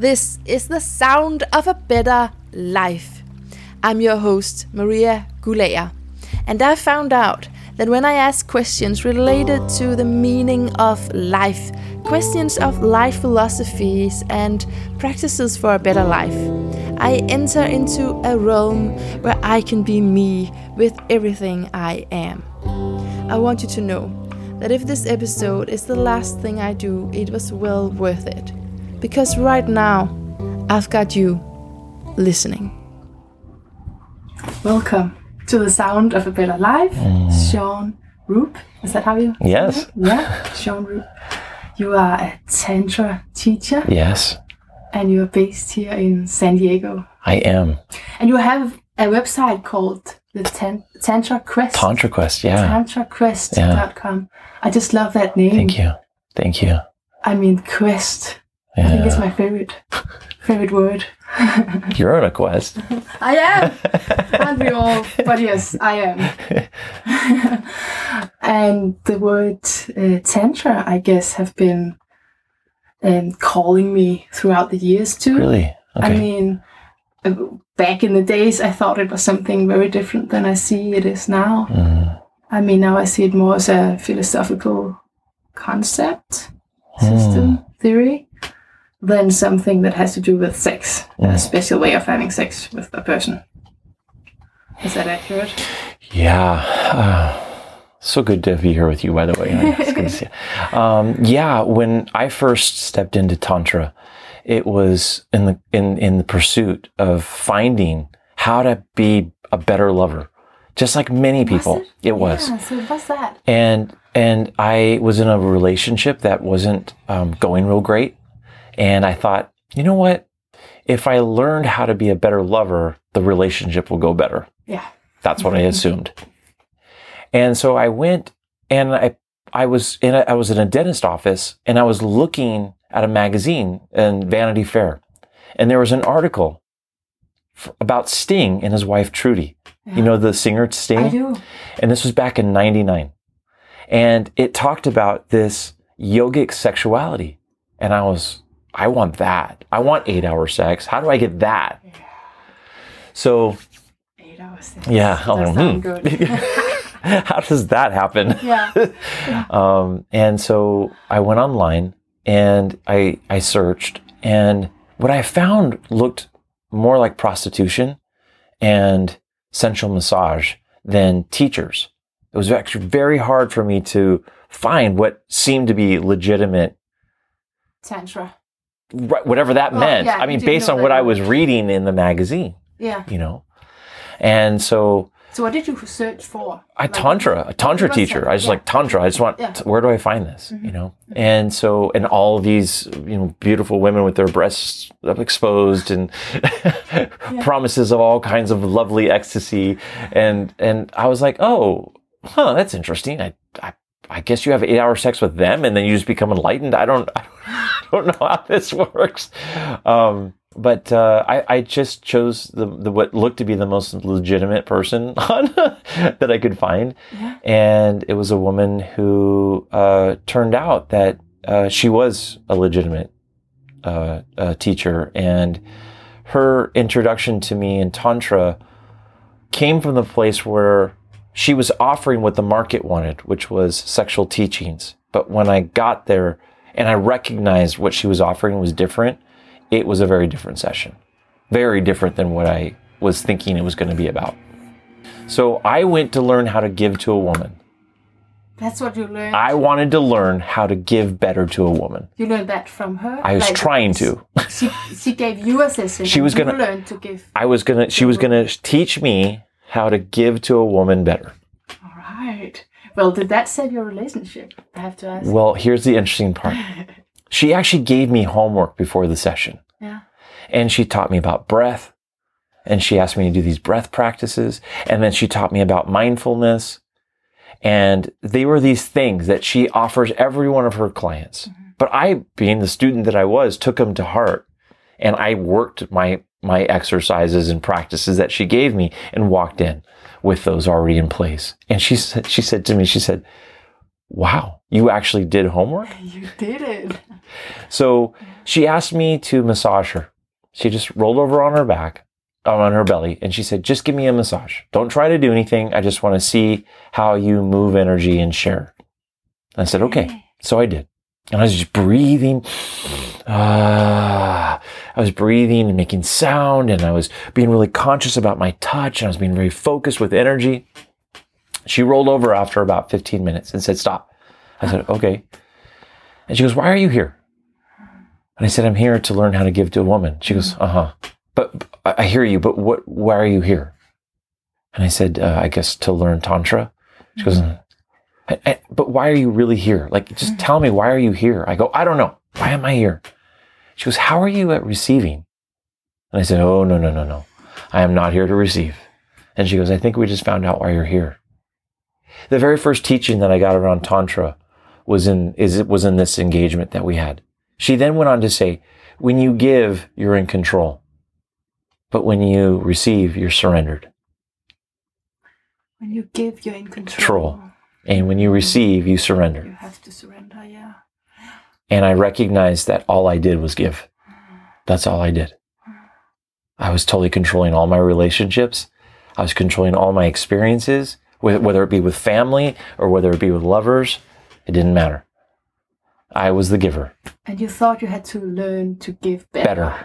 This is the sound of a better life. I'm your host, Maria Gulager, and I found out that when I ask questions related to the meaning of life, questions of life philosophies and practices for a better life, I enter into a realm where I can be me with everything I am. I want you to know that if this episode is the last thing I do, it was well worth it. Because right now, I've got you listening. Welcome to the sound of a better life, Sean Roop. Is that how you? Yes. Yeah, Sean Roop. You are a Tantra teacher. Yes. And you are based here in San Diego. I am. And you have a website called the Tantra Quest. Tantra Quest, yeah. TantraQuest.com. I just love that name. Thank you. I mean, quest. Yeah. I think it's my favorite word. You're on a quest. I am. Aren't we all? But yes, I am. And the word Tantra, I guess, have been calling me throughout the years too. Really? Okay. I mean, back in the days, I thought it was something very different than I see it is now. I mean, now I see it more as a philosophical concept, system, theory, than something that has to do with sex, a special way of having sex with a person. Is that accurate? Yeah. So good to be here with you, by the way. It's good to see you. When I first stepped into Tantra, it was in the pursuit of finding how to be a better lover. Just like many people. It was. Yeah, so what's that? And I was in a relationship that wasn't going real great. And I thought, you know what? If I learned how to be a better lover, the relationship will go better. Yeah. That's what I assumed. And so I went and I was in a dentist office and I was looking at a magazine in Vanity Fair. And there was an article about Sting and his wife Trudy. Yeah. You know the singer Sting? I do. And this was back in 1999. And it talked about this yogic sexuality. And I want that. I want 8-hour sex. How do I get that? Yeah. So 8 hours sex. Yeah. That sounds good. How does that happen? Yeah. And so I went online and I searched, and what I found looked more like prostitution and sensual massage than teachers. It was actually very hard for me to find what seemed to be legitimate Tantra. Right, whatever that meant. Yeah, I mean, based on what I was reading in the magazine. Yeah. You know? And so what did you search for? A Tantra teacher. I just like Tantra. I just want, where do I find this? You know? And so, and all of these, beautiful women with their breasts exposed and promises of all kinds of lovely ecstasy. And I was like, oh, that's interesting. I guess you have 8-hour sex with them and then you just become enlightened. I don't know how this works. But I just chose the what looked to be the most legitimate person that I could find. Yeah. And it was a woman who turned out that she was a legitimate teacher. And her introduction to me in Tantra came from the place where she was offering what the market wanted, which was sexual teachings. But when I got there and I recognized what she was offering was different, it was a very different session. Very different than what I was thinking it was going to be about. So I went to learn how to give to a woman. That's what you learned? I wanted to learn how to give better to a woman. You learned that from her? I was trying to. She gave you a session. She was going to learn to give. She was going to teach me how to give to a woman better. All right. Well, did that save your relationship? I have to ask. Well, here's the interesting part. She actually gave me homework before the session. Yeah. And she taught me about breath. And she asked me to do these breath practices. And then she taught me about mindfulness. And they were these things that she offers every one of her clients. Mm-hmm. But I, being the student that I was, took them to heart. And I worked my exercises and practices that she gave me and walked in with those already in place. And she said to me, wow, you actually did homework? You did it. So she asked me to massage her. She just rolled over on her back, on her belly, and she said, just give me a massage. Don't try to do anything. I just want to see how you move energy and share. And I said, okay. So I did. And I was just breathing. I was breathing and making sound, and I was being really conscious about my touch, and I was being very focused with energy. She rolled over after about 15 minutes and said, stop. I said, okay. And she goes, why are you here? And I said, I'm here to learn how to give to a woman. She goes, but I hear you, but why are you here? And I said, I guess to learn Tantra. She goes, but why are you really here? Like, just tell me, why are you here? I go, I don't know. Why am I here? She goes, how are you at receiving? And I said, oh, no. I am not here to receive. And she goes, I think we just found out why you're here. The very first teaching that I got around Tantra was in this engagement that we had. She then went on to say, when you give, you're in control. But when you receive, you're surrendered. When you give, you're in control. And when you receive, you surrender. You have to surrender, yeah. And I recognized that all I did was give. That's all I did. I was totally controlling all my relationships. I was controlling all my experiences, whether it be with family or whether it be with lovers. It didn't matter. I was the giver. And you thought you had to learn to give better.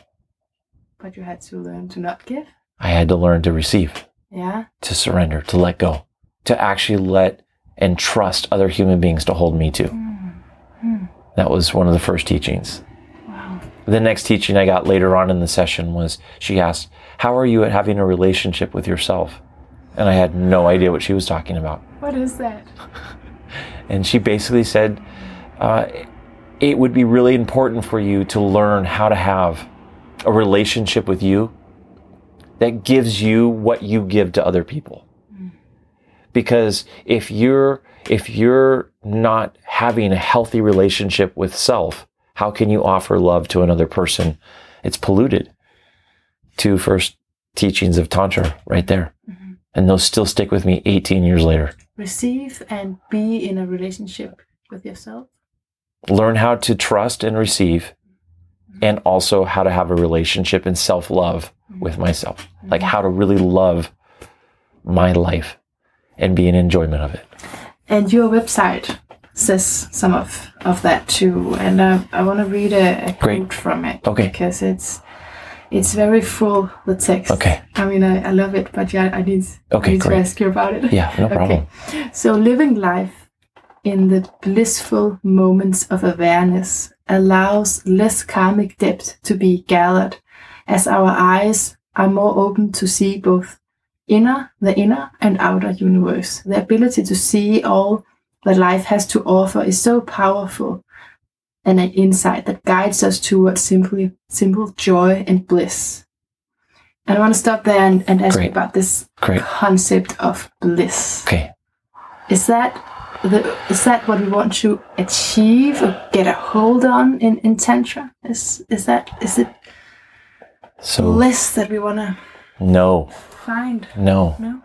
But you had to learn to not give? I had to learn to receive. Yeah. To surrender, to let go. To actually let and trust other human beings to hold me too. That was one of the first teachings. Wow. The next teaching I got later on in the session was, she asked, how are you at having a relationship with yourself? And I had no idea what she was talking about. What is that? And she basically said, it would be really important for you to learn how to have a relationship with you that gives you what you give to other people. Because if you're not having a healthy relationship with self, how can you offer love to another person? It's polluted. 2 first teachings of Tantra right there. And those still stick with me 18 years later. Receive and be in a relationship with yourself. Learn how to trust and receive, and also how to have a relationship and self-love with myself. Like how to really love my life and be in enjoyment of it. And your website says some of that too. And I want to read a quote from it. Okay. Because it's very full, the text. Okay. I mean, I love it, but yeah, I need to ask you about it. Yeah, no problem. Okay. So living life in the blissful moments of awareness allows less karmic debt to be gathered, as our eyes are more open to see both the inner and outer universe. The ability to see all that life has to offer is so powerful, and an insight that guides us towards simple joy and bliss. And I want to stop there and ask you about this concept of bliss. Okay. Is that what we want to achieve or get a hold on in Tantra? Is it so bliss that we want to find? No.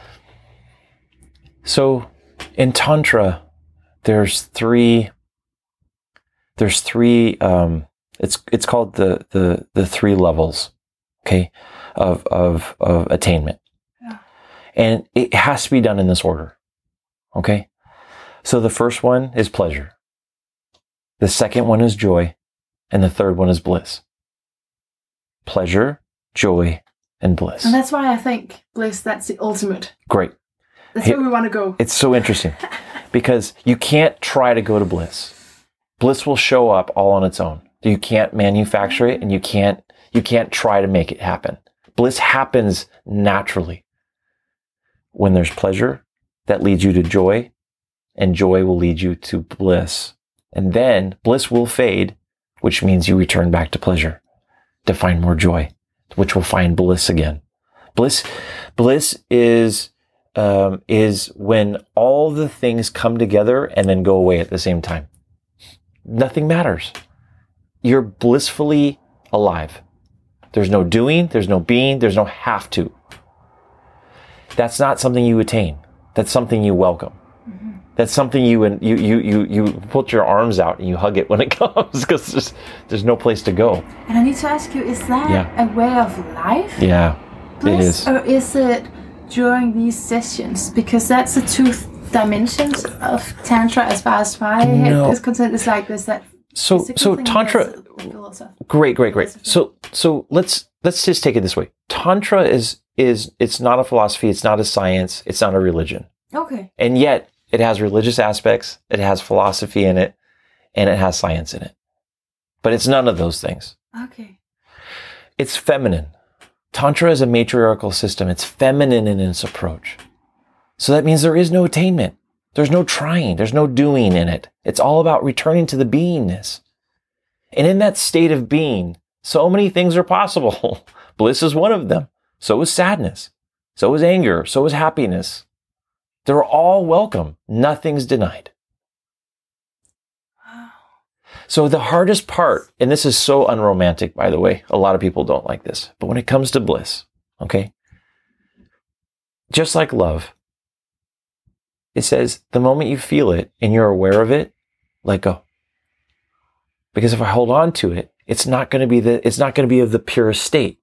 So in Tantra, there's three it's called the 3 levels, okay, of attainment. Yeah. And it has to be done in this order. Okay? So the first one is pleasure. The second one is joy, and the third one is bliss. Pleasure, joy, and bliss. And that's why I think bliss, that's the ultimate. Great. That's where we want to go. It's so interesting because you can't try to go to bliss. Bliss will show up all on its own. You can't manufacture it, and you can't try to make it happen. Bliss happens naturally. When there's pleasure, that leads you to joy, and joy will lead you to bliss. And then bliss will fade, which means you return back to pleasure to find more joy, which will find bliss again. Bliss is when all the things come together and then go away at the same time. Nothing matters. You're blissfully alive. There's no doing, there's no being, there's no have to. That's not something you attain. That's something you welcome. That's something you put your arms out and you hug it when it comes, because there's no place to go. And I need to ask you, is that a way of life? Yeah, bliss, it is. Or is it during these sessions? Because that's the two dimensions of Tantra as far as my head is concerned. It's like this, that. So Tantra, great. So let's just take it this way. Tantra is it's not a philosophy, it's not a science, it's not a religion. Okay. And yet it has religious aspects, it has philosophy in it, and it has science in it. But it's none of those things. Okay. It's feminine. Tantra is a matriarchal system. It's feminine in its approach. So that means there is no attainment. There's no trying. There's no doing in it. It's all about returning to the beingness. And in that state of being, so many things are possible. Bliss is one of them. So is sadness. So is anger. So is happiness. They're all welcome. Nothing's denied. So the hardest part, and this is so unromantic, by the way, a lot of people don't like this, but when it comes to bliss, okay, just like love, it says the moment you feel it and you're aware of it, let go. Because if I hold on to it, it's not going to be of the purest state.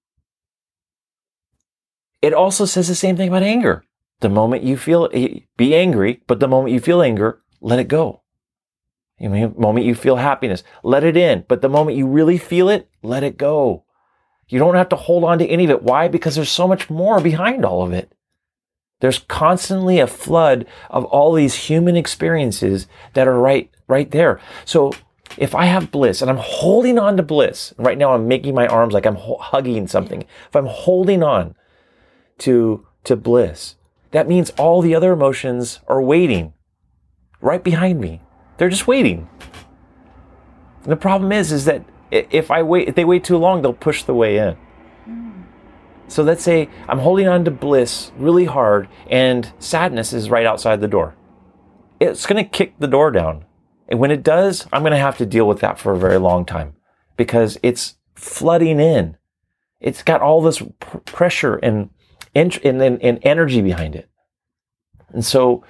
It also says the same thing about anger. The moment you feel it, be angry, but the moment you feel anger, let it go. The moment you feel happiness, let it in. But the moment you really feel it, let it go. You don't have to hold on to any of it. Why? Because there's so much more behind all of it. There's constantly a flood of all these human experiences that are right there. So if I have bliss and I'm holding on to bliss, right now I'm making my arms like I'm hugging something. If I'm holding on to bliss, that means all the other emotions are waiting right behind me. They're just waiting. And the problem is that if they wait too long, they'll push the way in. So let's say I'm holding on to bliss really hard and sadness is right outside the door. It's going to kick the door down. And when it does, I'm going to have to deal with that for a very long time because it's flooding in. It's got all this pressure and energy behind it. And so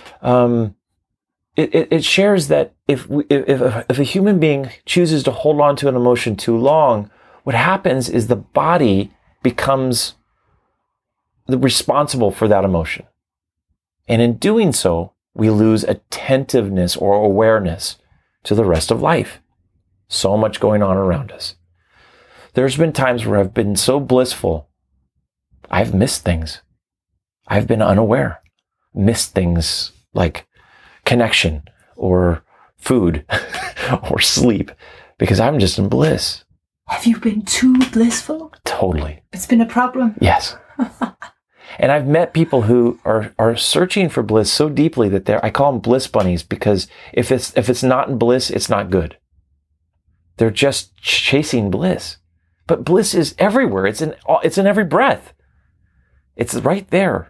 it shares that if a human being chooses to hold on to an emotion too long, what happens is the body becomes responsible for that emotion. And in doing so, we lose attentiveness or awareness to the rest of life. So much going on around us. There's been times where I've been so blissful, I've missed things. I've been unaware. Missed things like connection or food or sleep because I'm just in bliss. Have you been too blissful? Totally. It's been a problem. Yes. And I've met people who are searching for bliss so deeply that I call them bliss bunnies because if it's not in bliss, it's not good. They're just chasing bliss. But bliss is everywhere. It's in every breath. It's right there.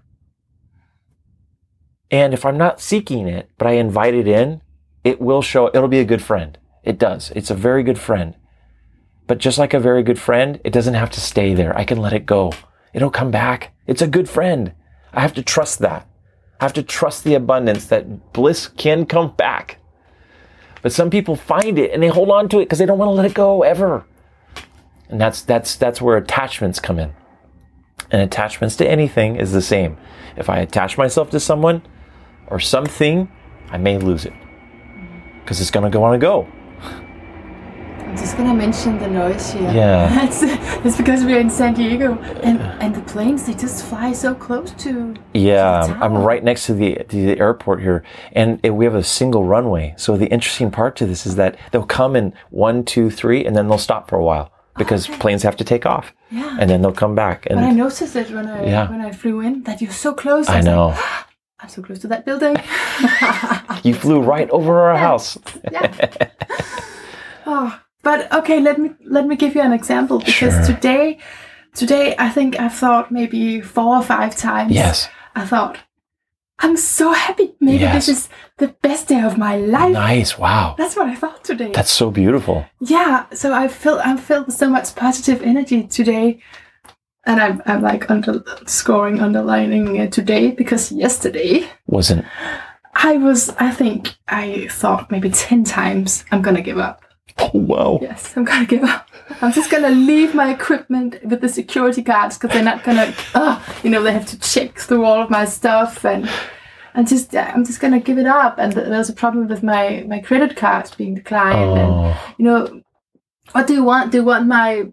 And if I'm not seeking it, but I invite it in, it will show, it'll be a good friend. It does. It's a very good friend. But just like a very good friend, it doesn't have to stay there. I can let it go. It'll come back. It's a good friend. I have to trust that. I have to trust the abundance that bliss can come back. But some people find it and they hold on to it because they don't want to let it go ever. And that's where attachments come in. And attachments to anything is the same. If I attach myself to someone or something, I may lose it because it's going to want to go. I'm just going to mention the noise here. Yeah. It's because we're in San Diego and the planes, they just fly so close to Yeah, to the I'm right next to the airport here and we have a single runway. So the interesting part to this is that they'll come in 1, 2, 3 and then they'll stop for a while because planes have to take off. Yeah. And then they'll come back. And but I noticed it when I flew in that you're so close. I know. Like, I'm so close to that building. You flew right over our house. Yeah. Oh, but okay, let me give you an example because Sure. today I think I've thought maybe 4 or 5 times. Yes. I thought, I'm so happy. Maybe Yes. this is the best day of my life. Nice. Wow. That's what I thought today. That's so beautiful. Yeah. So I'm filled with so much positive energy today. And I'm like underlining today because yesterday Wasn't. I think I thought maybe 10 times, I'm going to give up. Oh, wow. Yes, I'm going to give up. I'm just going to leave my equipment with the security guards because they're not going to, they have to check through all of my stuff. And I'm just going to give it up. And there's a problem with my credit cards being declined. Oh. And, what do you want? Do you want my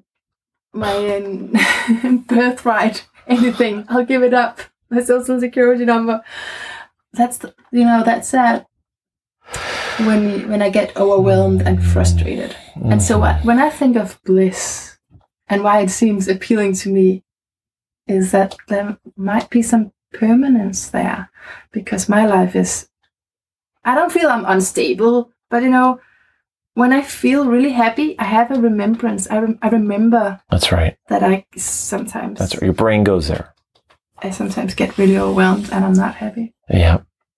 birthright? Anything? I'll give it up. My social security number. That's sad. When I get overwhelmed and frustrated. And so when I think of bliss and why it seems appealing to me is that there might be some permanence there, because my life is, I don't feel I'm unstable, but when I feel really happy, I have a remembrance. I remember. That's right. That I sometimes. That's right. Your brain goes there. I sometimes get really overwhelmed and I'm not happy. Yeah.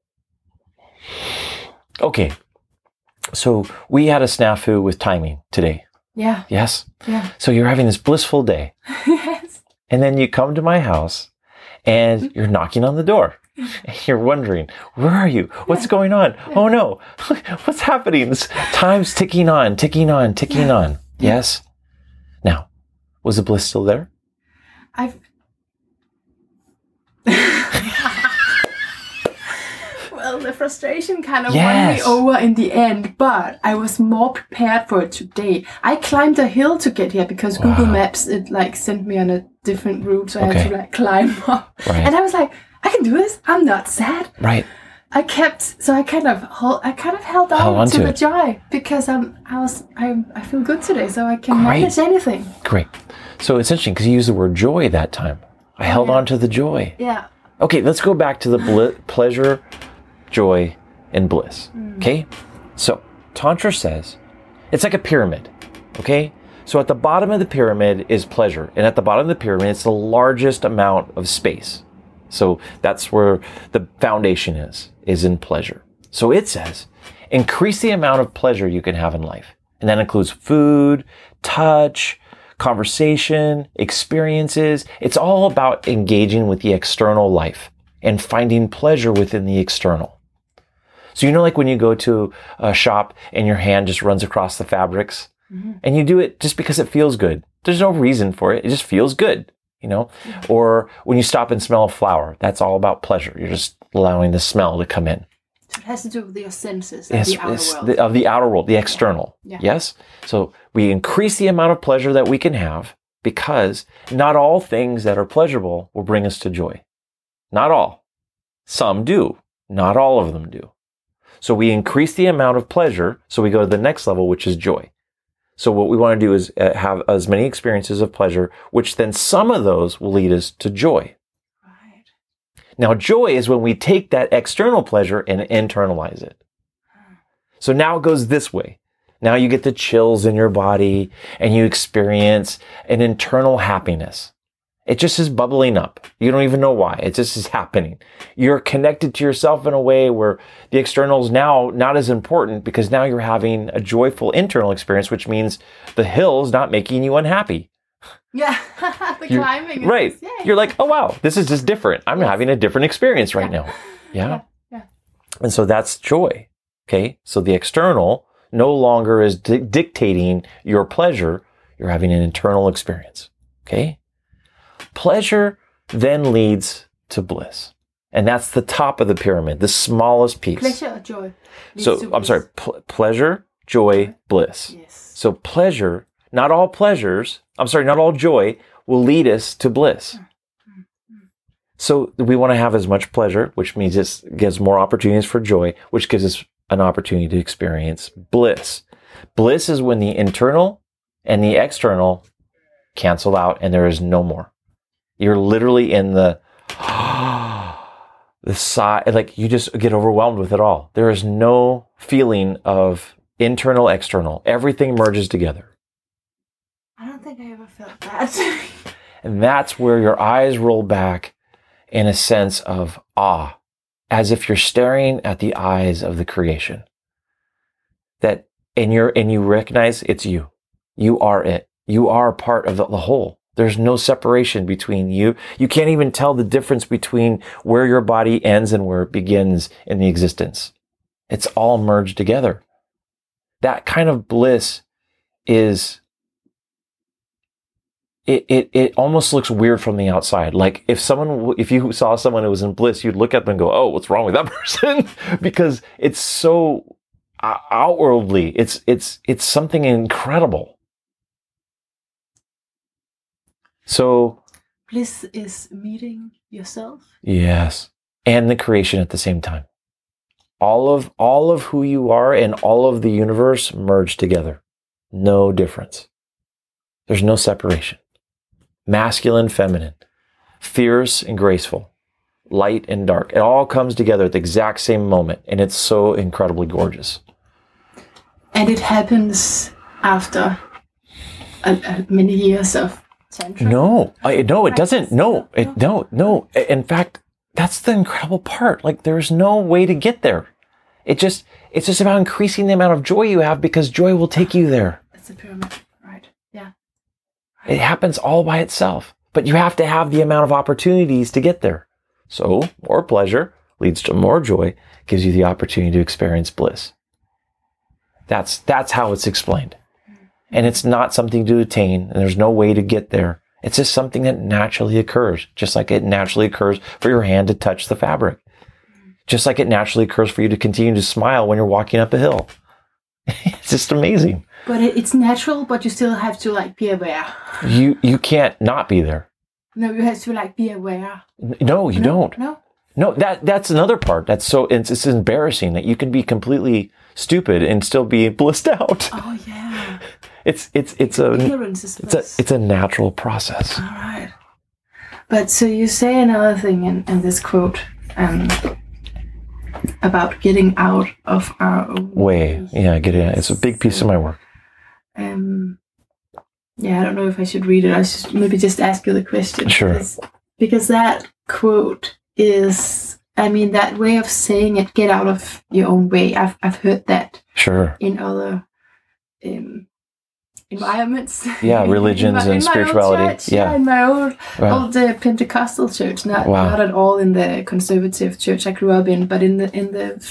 Okay. So we had a snafu with timing today. Yeah. Yes? Yeah. So you're having this blissful day. Yes. And then you come to my house and you're knocking on the door. And you're wondering, where are you? What's going on? Oh no. What's happening? This time's ticking on. Yes? Now, was the bliss still there? Well, the frustration kind of won me over in the end, but I was more prepared for it today. I climbed a hill to get here because Google Maps, it sent me on a different route, so I had to climb up. Right. And I was like, I can do this. I'm not sad. Right. I kind of held on to the joy because I feel good today, so I can manage anything. Great. So it's interesting because you used the word joy that time. I held on to the joy. Yeah. Okay, let's go back to the pleasure, joy, and bliss. Okay? So, Tantra says it's like a pyramid. Okay? So at the bottom of the pyramid is pleasure. And at the bottom of the pyramid, it's the largest amount of space. So that's where the foundation is in pleasure. So it says, increase the amount of pleasure you can have in life. And that includes food, touch, conversation, experiences. It's all about engaging with the external life and finding pleasure within the external. So like when you go to a shop and your hand just runs across the fabrics and you do it just because it feels good. There's no reason for it. It just feels good, Or when you stop and smell a flower, that's all about pleasure. You're just allowing the smell to come in. So it has to do with your senses of the outer world. Of the outer world, the external. Yeah. Yes? So we increase the amount of pleasure that we can have because not all things that are pleasurable will bring us to joy. Not all. Some do. Not all of them do. So we increase the amount of pleasure, so we go to the next level, which is joy. So what we want to do is have as many experiences of pleasure, which then some of those will lead us to joy. Right. Now, joy is when we take that external pleasure and internalize it. So now it goes this way. Now you get the chills in your body and you experience an internal happiness. It just is bubbling up. You don't even know why. It just is happening. You're connected to yourself in a way where the external is now not as important because now you're having a joyful internal experience, which means the hill's not making you unhappy. Yeah, climbing. Right. You're like, oh, wow, this is just different. I'm having a different experience right now. Yeah. And so that's joy. Okay. So the external no longer is dictating your pleasure. You're having an internal experience. Okay. Pleasure then leads to bliss. And that's the top of the pyramid, the smallest piece. Pleasure or joy? So, I'm sorry, pleasure, joy, bliss. Yes. So pleasure, not all joy will lead us to bliss. So we want to have as much pleasure, which means it gives more opportunities for joy, which gives us an opportunity to experience bliss. Bliss is when the internal and the external cancel out and there is no more. You're literally in the side, like you just get overwhelmed with it all. There is no feeling of internal, external. Everything merges together. I don't think I ever felt that. And that's where your eyes roll back in a sense of awe, as if you're staring at the eyes of the creation. And you recognize it's you. You are it. You are a part of the whole. There's no separation between you. You can't even tell the difference between where your body ends and where it begins in the existence. It's all merged together. That kind of bliss is, it almost looks weird from the outside. Like if you saw someone who was in bliss, you'd look at them and go, oh, what's wrong with that person? Because it's so outwardly, it's something incredible. So bliss is meeting yourself. Yes. And the creation at the same time. All of who you are and all of the universe merged together. No difference. There's no separation. Masculine, feminine, fierce and graceful, light and dark. It all comes together at the exact same moment, and it's so incredibly gorgeous. And it happens after many years of tantra? No, it doesn't. No. In fact, that's the incredible part. Like, there's no way to get there. It's just about increasing the amount of joy you have, because joy will take you there. It's a pyramid, right? Yeah. It happens all by itself, but you have to have the amount of opportunities to get there. So more pleasure leads to more joy, gives you the opportunity to experience bliss. That's how it's explained. And it's not something to attain, and there's no way to get there. It's just something that naturally occurs, just like it naturally occurs for your hand to touch the fabric. Just like it naturally occurs for you to continue to smile when you're walking up a hill. It's just amazing. But it's natural, but you still have to be aware. You can't not be there. No, you have to be aware. No, you don't. No, that's another part. It's embarrassing that you can be completely stupid and still be blissed out. Oh yeah. It's a natural process. All right. But so you say another thing in this quote about getting out of our way. Yeah, it's a big piece of my work. Yeah, I don't know if I should read it. I should maybe just ask you the question. Sure. Because that quote is, that way of saying it, get out of your own way. I've heard that. Sure. In other environments. Yeah, religions and spirituality. Church, in my old Pentecostal church. Not at all in the conservative church I grew up in, but in the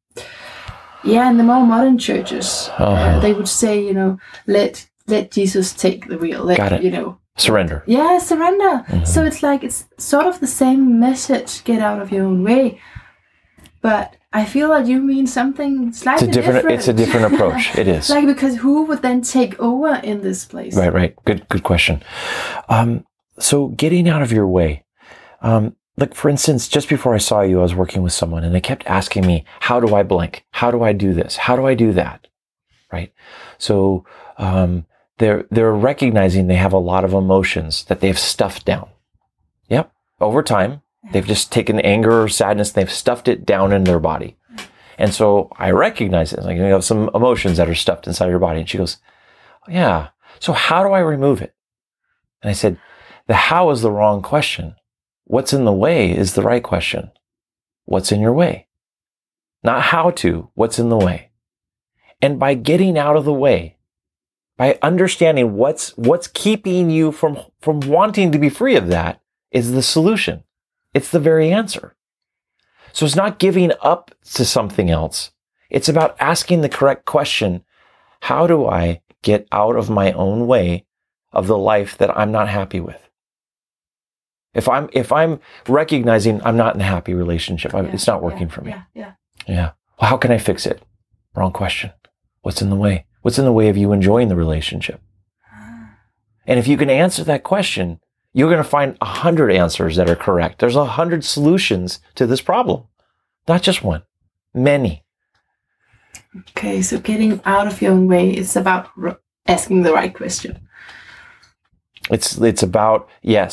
more modern churches, they would say, let Jesus take the wheel. Got it. Surrender. Yeah, surrender. Mm-hmm. So it's sort of the same message, get out of your own way. But I feel like you mean something slightly different. It's a different approach. It is. Because who would then take over in this place? Right. Good question. So getting out of your way. For instance, just before I saw you, I was working with someone and they kept asking me, how do I blank? How do I do this? How do I do that? Right. So, they're recognizing they have a lot of emotions that they've stuffed down. Yep. Over time, they've just taken anger or sadness, and they've stuffed it down in their body. And so I recognize it. You have some emotions that are stuffed inside your body. And she goes, yeah. So how do I remove it? And I said, the how is the wrong question. What's in the way is the right question. What's in your way? Not how to, what's in the way. And by getting out of the way, by understanding what's keeping you from wanting to be free of that, is the solution. It's the very answer. So it's not giving up to something else. It's about asking the correct question. How do I get out of my own way of the life that I'm not happy with? If I'm recognizing I'm not in a happy relationship, it's not working for me. Yeah. Well, how can I fix it? Wrong question. What's in the way? What's in the way of you enjoying the relationship? And if you can answer that question, you're going to find 100 answers that are correct. There's 100 solutions to this problem. Not just one. Many. Okay, so getting out of your own way is about asking the right question. It's about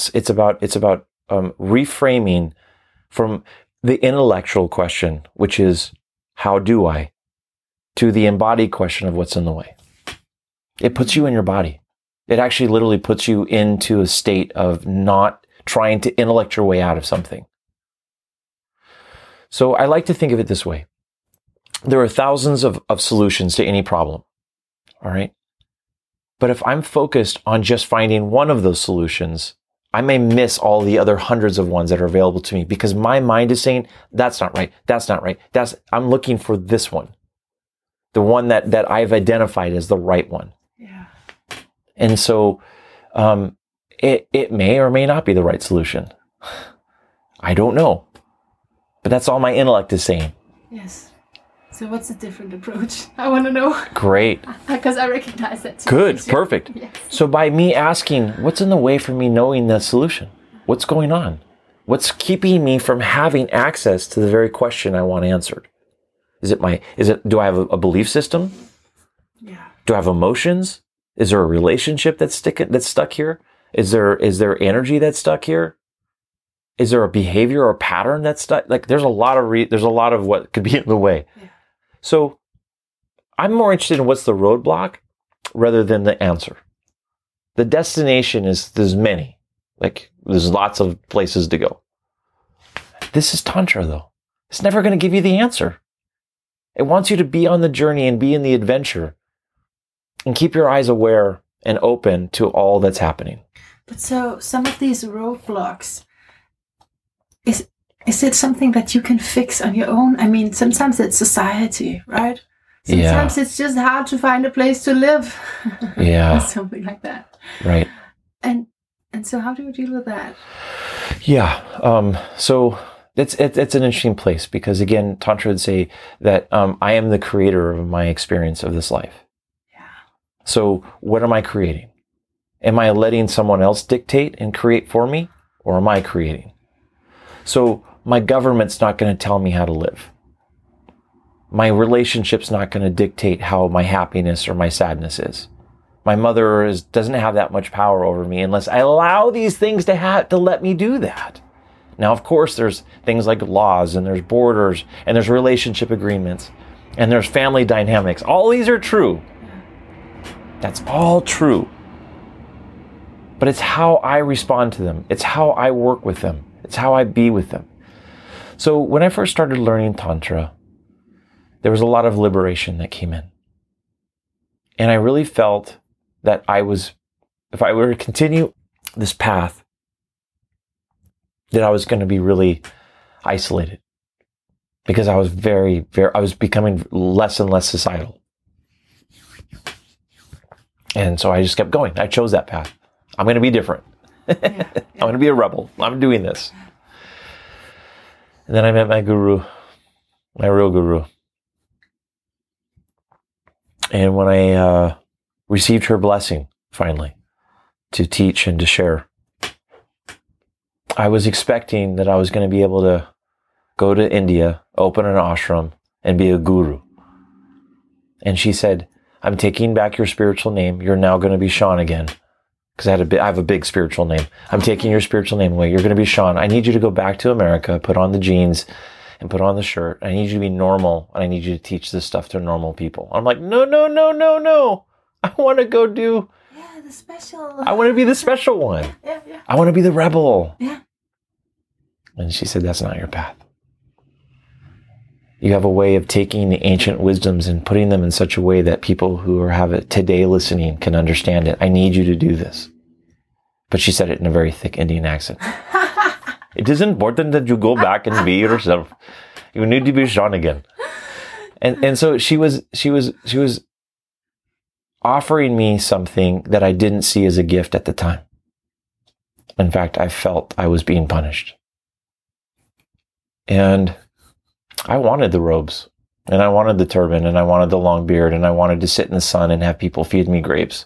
reframing from the intellectual question, which is, how do I? To the embodied question of what's in the way. It puts you in your body. It actually literally puts you into a state of not trying to intellect your way out of something. So I like to think of it this way. There are thousands of solutions to any problem. All right. But if I'm focused on just finding one of those solutions, I may miss all the other hundreds of ones that are available to me because my mind is saying, that's not right. That's not right. I'm looking for this one. The one that I've identified as the right one. Yeah. And so, it may or may not be the right solution. I don't know. But that's all my intellect is saying. Yes. So what's a different approach? I want to know. Great. Because I recognize that too. Good. Perfect. Yes. So by me asking, what's in the way for me knowing the solution? What's going on? What's keeping me from having access to the very question I want answered? Do I have a belief system? Yeah. Do I have emotions? Is there a relationship that's stuck here? Is there energy that's stuck here? Is there a behavior or pattern that's stuck? Like there's a lot of what could be in the way. Yeah. So I'm more interested in what's the roadblock rather than the answer. The destination there's many. Like there's lots of places to go. This is Tantra though. It's never going to give you the answer. It wants you to be on the journey and be in the adventure and keep your eyes aware and open to all that's happening. But so some of these roadblocks, is it something that you can fix on your own? I mean, sometimes it's society, right? Sometimes it's just hard to find a place to live. Yeah. Something like that. Right. And so how do you deal with that? Yeah. So it's an interesting place because again, Tantra would say that I am the creator of my experience of this life. Yeah. So what am I creating? Am I letting someone else dictate and create for me, or am I creating? So my government's not going to tell me how to live. My relationship's not going to dictate how my happiness or my sadness is. My mother doesn't have that much power over me unless I allow these things to let me do that. Now, of course, there's things like laws and there's borders and there's relationship agreements and there's family dynamics. All these are true. That's all true. But it's how I respond to them. It's how I work with them. It's how I be with them. So when I first started learning Tantra, there was a lot of liberation that came in. And I really felt that if I were to continue this path, that I was going to be really isolated because I was I was becoming less and less societal. And so I just kept going. I chose that path. I'm going to be different. I'm going to be a rebel. I'm doing this. And then I met my guru, my real guru. And when I received her blessing, finally, to teach and to share, I was expecting that I was going to be able to go to India, open an ashram, and be a guru. And she said, I'm taking back your spiritual name. You're now going to be Sean again. Because I have a big spiritual name. I'm taking your spiritual name away. You're going to be Sean. I need you to go back to America, put on the jeans, and put on the shirt. I need you to be normal, and I need you to teach this stuff to normal people. I'm like, no. I want to go do... Yeah, the special... I want to be the special one. Yeah. I want to be the rebel. Yeah. And she said, that's not your path. You have a way of taking the ancient wisdoms and putting them in such a way that people who have it today listening can understand it. I need you to do this. But she said it in a very thick Indian accent. It is important that you go back and be yourself. You need to be Sean again. And so she was offering me something that I didn't see as a gift at the time. In fact, I felt I was being punished. And I wanted the robes, and I wanted the turban, and I wanted the long beard, and I wanted to sit in the sun and have people feed me grapes.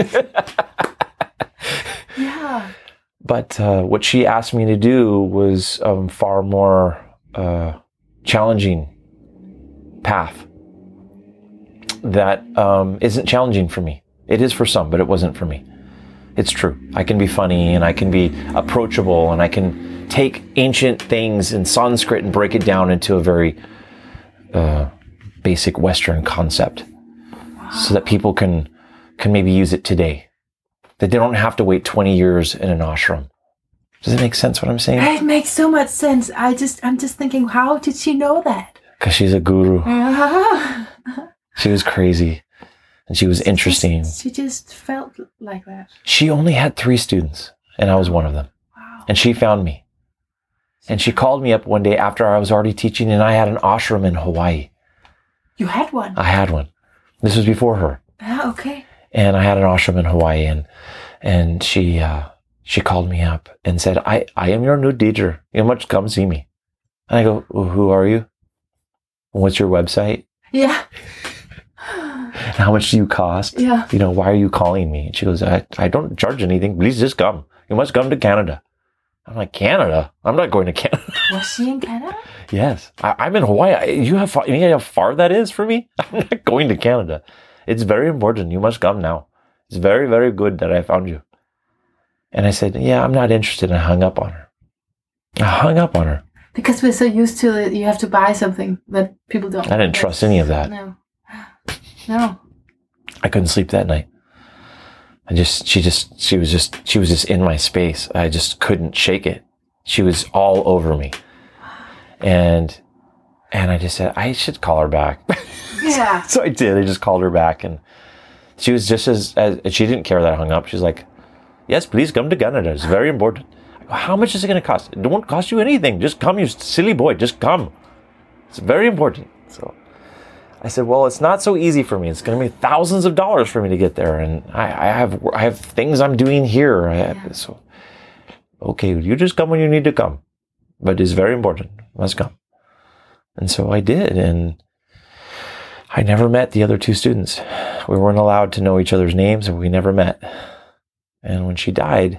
Yeah. But what she asked me to do was far more challenging path that isn't challenging for me. It is for some, but it wasn't for me. It's true. I can be funny, and I can be approachable, and I can take ancient things in Sanskrit and break it down into a very basic Western concept. Wow. So that people can maybe use it today. That they don't have to wait 20 years in an ashram. Does it make sense what I'm saying? It makes so much sense. I'm just thinking, how did she know that? Because she's a guru. She was crazy. And she was interesting. She just felt like that. She only had 3 students, and I was one of them. Wow. And she found me. And she called me up one day after I was already teaching, and I had an ashram in Hawaii. You had one? I had one. This was before her. Ah, okay. And I had an ashram in Hawaii, and she called me up and said, I am your new teacher. You must come see me. And I go, well, who are you? What's your website? Yeah. How much do you cost? Yeah. You know, why are you calling me? And she goes, I don't charge anything. Please just come. You must come to Canada. I'm like, Canada? I'm not going to Canada. Was she in Canada? Yes. I'm in Hawaii. You know how far that is for me? I'm not going to Canada. It's very important. You must come now. It's very, very good that I found you. And I said, yeah, I'm not interested. And I hung up on her. Because we're so used to it, you have to buy something that people don't. I didn't trust any of that. No. I couldn't sleep that night. She was just in my space. I just couldn't shake it. She was all over me. And I just said, I should call her back. Yeah. So I did. I just called her back, and she was just as she didn't care that I hung up. She's like, yes, please come to Canada. It's very important. I go, how much is it going to cost? It won't cost you anything. Just come, you silly boy. Just come. It's very important. So I said, well, it's not so easy for me. It's going to be thousands of dollars for me to get there. And I have things I'm doing here. So, okay, you just come when you need to come. But it's very important. You must come. And so I did. And I never met the other 2 students. We weren't allowed to know each other's names, and we never met. And when she died,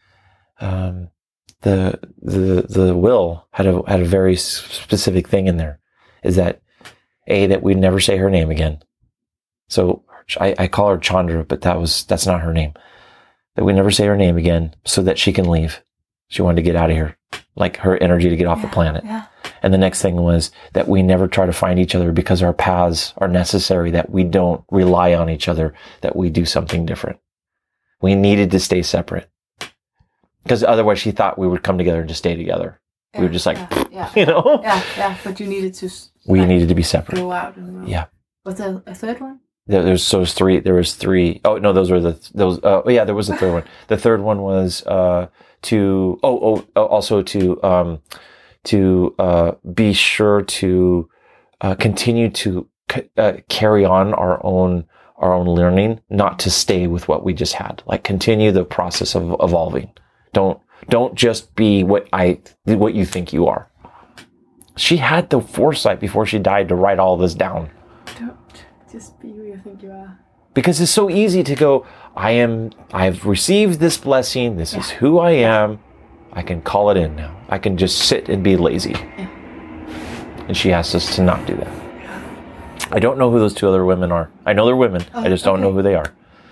the will had a very specific thing in there, is that we'd never say her name again. So I call her Chandra, but that's not her name. That we never say her name again, so that she can leave. She wanted to get out of here, like her energy to get off the planet. Yeah. And the next thing was that we never try to find each other, because our paths are necessary, that we don't rely on each other, that we do something different. We needed to stay separate, because otherwise she thought we would come together and just stay together. Yeah, we were just like, you know? Yeah, but you needed to... We needed to be separate. Go out in the world. Yeah. Was there a third one? There was 3. There was 3. Oh, no, there was a third one. The third one was to be sure to continue to carry on our own learning, not to stay with what we just had. Like, continue the process of evolving. Don't just be what you think you are. She had the foresight before she died to write all this down. Don't just be who you think you are. Because it's so easy to go, I've received this blessing. This is who I am. I can call it in now. I can just sit and be lazy. Yeah. And she asked us to not do that. Yeah. I don't know who those 2 other women are. I know they're women. I just don't know who they are.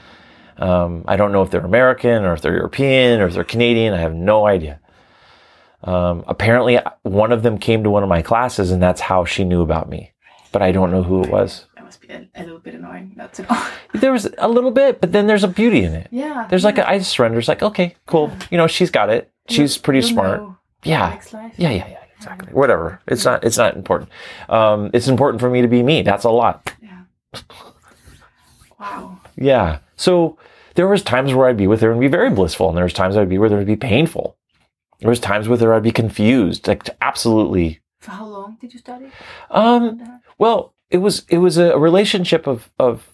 I don't know if they're American or if they're European or if they're Canadian. I have no idea. Apparently, one of them came to one of my classes, and that's how she knew about me. But I don't know who it was. That must be a little bit annoying not to know. There was a little bit, but then there's a beauty in it. Yeah. There's like I surrender. It's like, okay, cool. Yeah. You know, she's got it. She's pretty smart. Yeah. Yeah. Exactly. Whatever. It's not important. It's important for me to be me. That's a lot. Yeah. Wow. Yeah. So there was times where I'd be with her and be very blissful, and there was times I'd be with her and be painful. There was times with her I'd be confused, like absolutely. For how long did you study? Well, it was a relationship of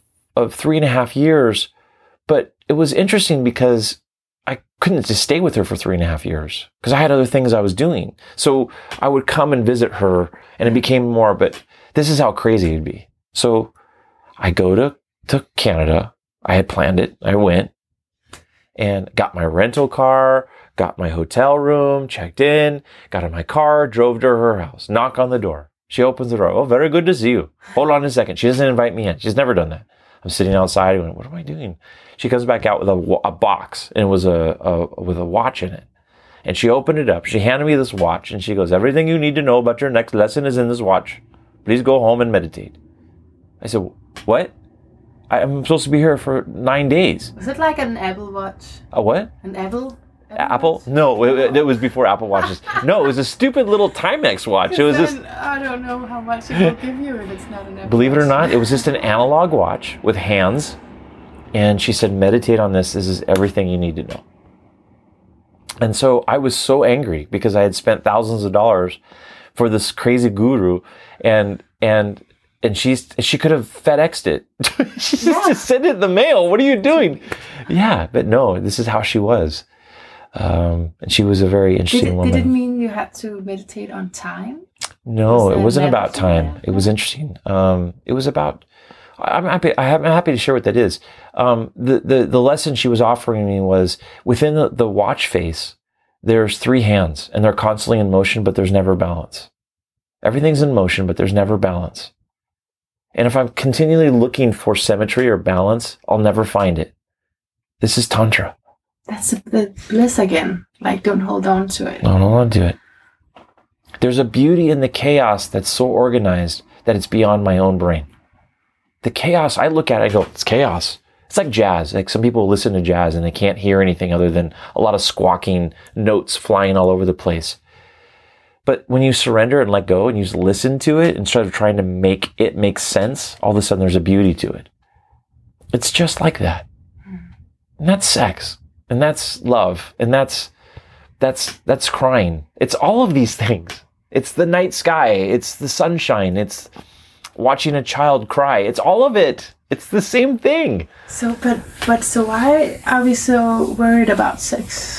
3.5 years, but it was interesting because I couldn't just stay with her for 3.5 years because I had other things I was doing. So I would come and visit her, and it became more, but this is how crazy it'd be. So I go to Canada. I had planned it. I went and got my rental car, got my hotel room, checked in, got in my car, drove to her house, knock on the door. She opens the door. Oh, very good to see you. Hold on a second. She doesn't invite me in. She's never done that. I'm sitting outside going, what am I doing? She comes back out with a box, and it was with a watch in it. And she opened it up. She handed me this watch, and she goes, everything you need to know about your next lesson is in this watch. Please go home and meditate. I said, what? I'm supposed to be here for 9 days. Was it like an Apple Watch? A what? An Apple Apple? No, it was before Apple Watches. No, it was a stupid little Timex watch. It was just. I don't know how much it will give you if it's not an Apple. Believe it or not, it was just an analog watch with hands. And she said, meditate on this. This is everything you need to know. And so I was so angry because I had spent thousands of dollars for this crazy guru, and she could have FedExed it. She just sent it in the mail. What are you doing? Yeah, but no, this is how she was. And she was a very interesting woman. Did it mean you had to meditate on time? No, it wasn't about time. It was interesting. It was about. I'm happy to share what that is. The lesson she was offering me was within the watch face, there's 3 hands, and they're constantly in motion, but there's never balance. Everything's in motion, but there's never balance. And if I'm continually looking for symmetry or balance, I'll never find it. This is Tantra. That's the bliss again. Like, don't hold on to it. No, don't want to do it. There's a beauty in the chaos that's so organized that it's beyond my own brain. The chaos, I look at it, I go, it's chaos. It's like jazz. Like some people listen to jazz and they can't hear anything other than a lot of squawking notes flying all over the place. But when you surrender and let go and you just listen to it instead of trying to make it make sense, all of a sudden there's a beauty to it. It's just like that. And that's sex. And that's love. And that's crying. It's all of these things. It's the night sky. It's the sunshine. It's watching a child cry. It's all of it. It's the same thing. So why are we so worried about sex?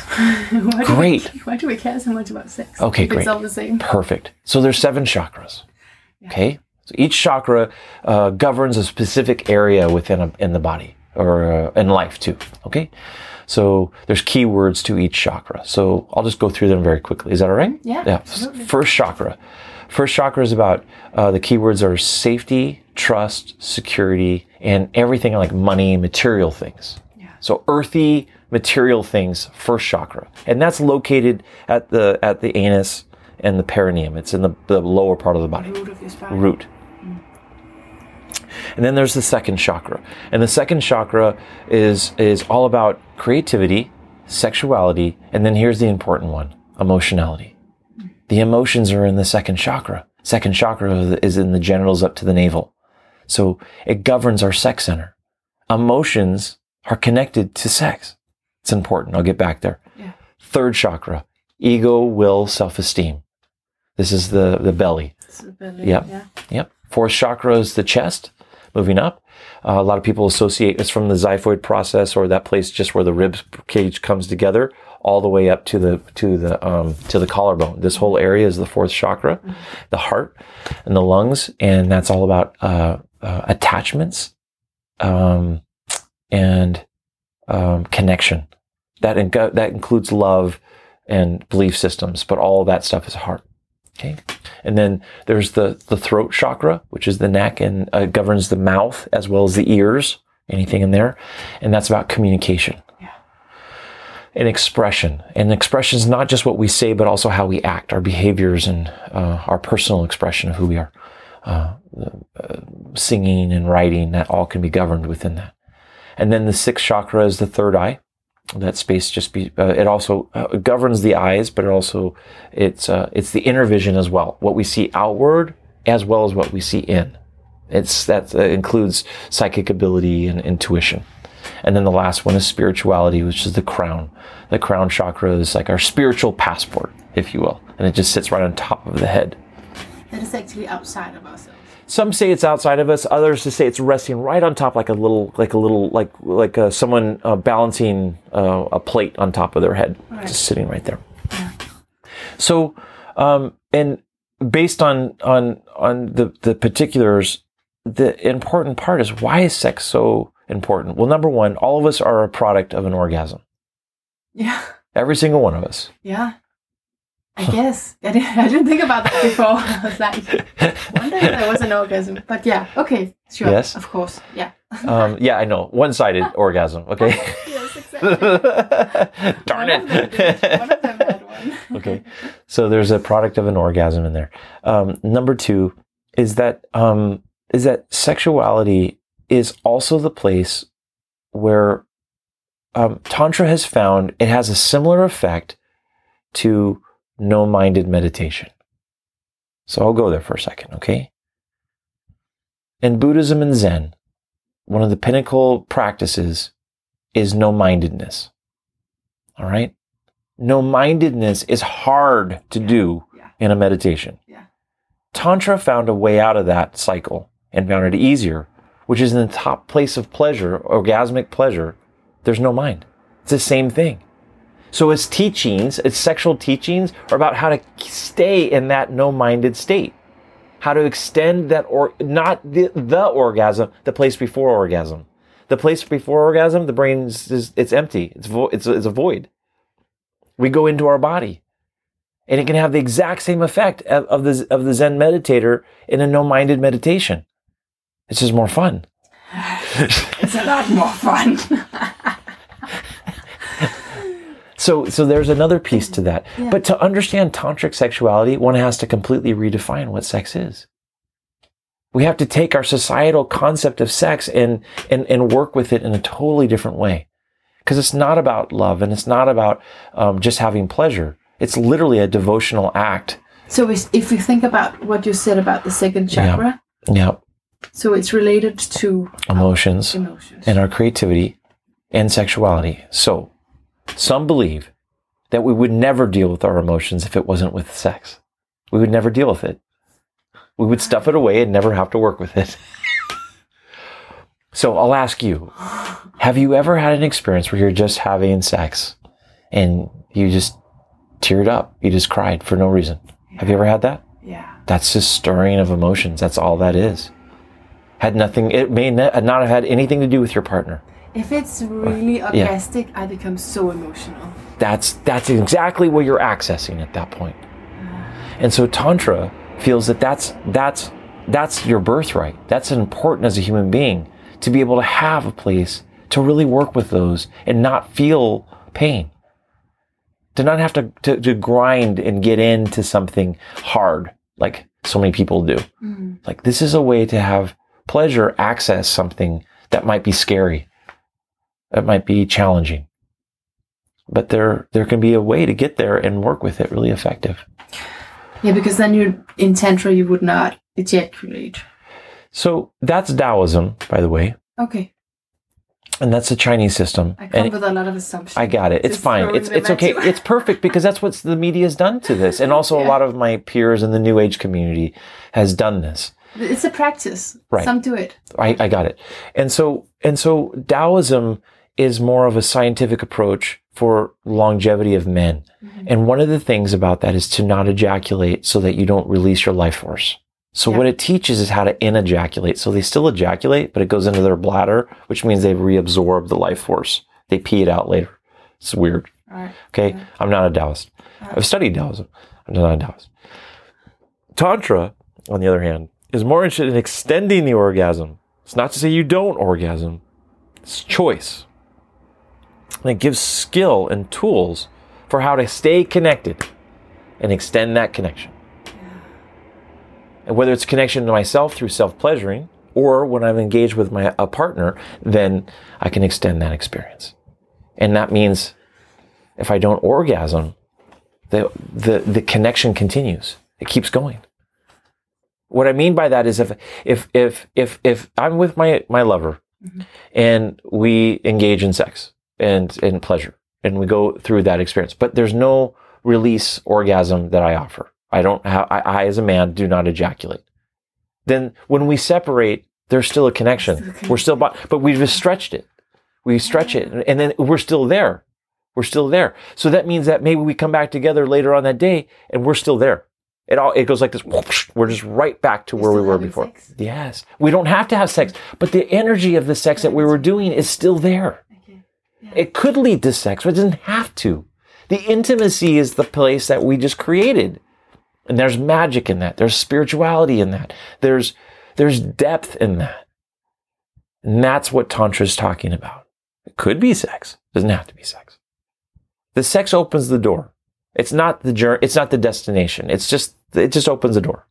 Why do we care so much about sex? Okay, great. It's all the same. Perfect. So there's 7 chakras. Yeah. Okay. So each chakra governs a specific area in the body or in life too. Okay. So there's keywords to each chakra. So I'll just go through them very quickly. Is that all right? Yeah. Absolutely. First chakra. First chakra is about, the keywords are safety, trust, security, and everything like money, material things. Yeah. So earthy, material things, first chakra. And that's located at the anus and the perineum. It's in the lower part of the body. Root of your spine. Root. And then there's the second chakra. And the second chakra is all about creativity, sexuality, and then here's the important one, emotionality. The emotions are in the second chakra. Second chakra is in the genitals up to the navel. So it governs our sex center. Emotions are connected to sex. It's important. I'll get back there. Yeah. Third chakra, ego, will, self-esteem. This is the belly. It's the belly. Yep. Yeah. Yep. Fourth chakra is the chest, moving up. A lot of people associate it's from the xiphoid process or that place just where the rib cage comes together, all the way up to the collarbone. This whole area is the fourth chakra, the heart and the lungs, and that's all about attachments and connection. That includes love and belief systems, but all that stuff is heart. Okay, and then there's the throat chakra, which is the neck and governs the mouth as well as the ears, anything in there, and that's about communication. And expression. And expression is not just what we say, but also how we act, our behaviors and our personal expression of who we are. Singing and writing, that all can be governed within that. And then the sixth chakra is the third eye. That space it also governs the eyes, but it's the inner vision as well. What we see outward as well as what we see in. That includes psychic ability and intuition. And then the last one is spirituality, which is the crown. The crown chakra is like our spiritual passport, if you will. And it just sits right on top of the head. That is actually outside of ourselves. Some say it's outside of us. Others say it's resting right on top, like someone balancing a plate on top of their head, right. Just sitting right there. Yeah. So, and based on the particulars, the important part is, why is sex so important? Well, number one, all of us are a product of an orgasm. Yeah. Every single one of us. Yeah. I guess. I didn't think about that before. I was like, wonder if there was an orgasm. But yeah, okay, sure. Yes. Of course. Yeah. Yeah, I know. One-sided orgasm, okay? Yes, exactly. Darn it. One of them had one. Okay. So there's a product of an orgasm in there. Number two is that sexuality is also the place where Tantra has found it has a similar effect to no-minded meditation. So I'll go there for a second, okay? In Buddhism and Zen, one of the pinnacle practices is no-mindedness. All right? No-mindedness is hard to do in a meditation. Yeah. Tantra found a way out of that cycle and found it easier, which is in the top place of pleasure, orgasmic pleasure. There's no mind. It's the same thing. So its teachings, its sexual teachings, are about how to stay in that no-minded state. How to extend that, or not the orgasm, the place before orgasm. The place before orgasm, the brain it's empty. It's a void. We go into our body, and it can have the exact same effect of the Zen meditator in a no-minded meditation. It's just more fun. It's a lot more fun. So there's another piece to that. Yeah. But to understand tantric sexuality, one has to completely redefine what sex is. We have to take our societal concept of sex and work with it in a totally different way. Because it's not about love, and it's not about just having pleasure. It's literally a devotional act. So if you think about what you said about the second chakra, yeah. So it's related to emotions and our creativity and sexuality. So some believe that we would never deal with our emotions if it wasn't with sex. We would never deal with it. We would stuff it away and never have to work with it. So I'll ask you, have you ever had an experience where you're just having sex and you just teared up? You just cried for no reason. Yeah. Have you ever had that? Yeah. That's just stirring of emotions. That's all that is. It may not have had anything to do with your partner. If it's really orgastic, I become so emotional. That's exactly what you're accessing at that point. And so Tantra feels that that's your birthright. That's important as a human being, to be able to have a place to really work with those and not feel pain. To not have to grind and get into something hard like so many people do. Mm-hmm. Like, this is a way to have pleasure access something that might be scary. That might be challenging. But there can be a way to get there and work with it really effective. Yeah, because then in Tantra you would not ejaculate. So that's Taoism, by the way. Okay. And that's the Chinese system. I come with a lot of assumptions. I got it. It's fine. It's okay. It's perfect, because that's what the media has done to this. And also a lot of my peers in the New Age community has done this. It's a practice. Right. Some do it. I got it. And so Taoism is more of a scientific approach for longevity of men. Mm-hmm. And one of the things about that is to not ejaculate so that you don't release your life force. So what it teaches is how to in-ejaculate. So they still ejaculate, but it goes into their bladder, which means they've reabsorbed the life force. They pee it out later. It's weird. Right. Okay? Right. I'm not a Taoist. Right. I've studied Taoism. I'm not a Taoist. Tantra, on the other hand, is more interested in extending the orgasm. It's not to say you don't orgasm. It's choice. And it gives skill and tools for how to stay connected and extend that connection. And whether it's connection to myself through self-pleasuring, or when I'm engaged with a partner, then I can extend that experience. And that means if I don't orgasm, the connection continues. It keeps going. What I mean by that is if I'm with my lover, mm-hmm. and we engage in sex and in pleasure, and we go through that experience, but there's no release orgasm that I offer. I as a man do not ejaculate. Then when we separate, there's still a connection. We're still, but we've just stretched it. We stretch it, and then we're still there. We're still there. So that means that maybe we come back together later on that day, and we're still there. It goes like this. Whoosh, we're just right back to where we were before. Sex? Yes. We don't have to have sex, but the energy of the sex that we were doing is still there. Okay. Yeah. It could lead to sex, but it doesn't have to. The intimacy is the place that we just created. And there's magic in that. There's spirituality in that. There's depth in that. And that's what Tantra is talking about. It could be sex. It doesn't have to be sex. The sex opens the door. It's not the journey. It's not the destination. It just opens the door.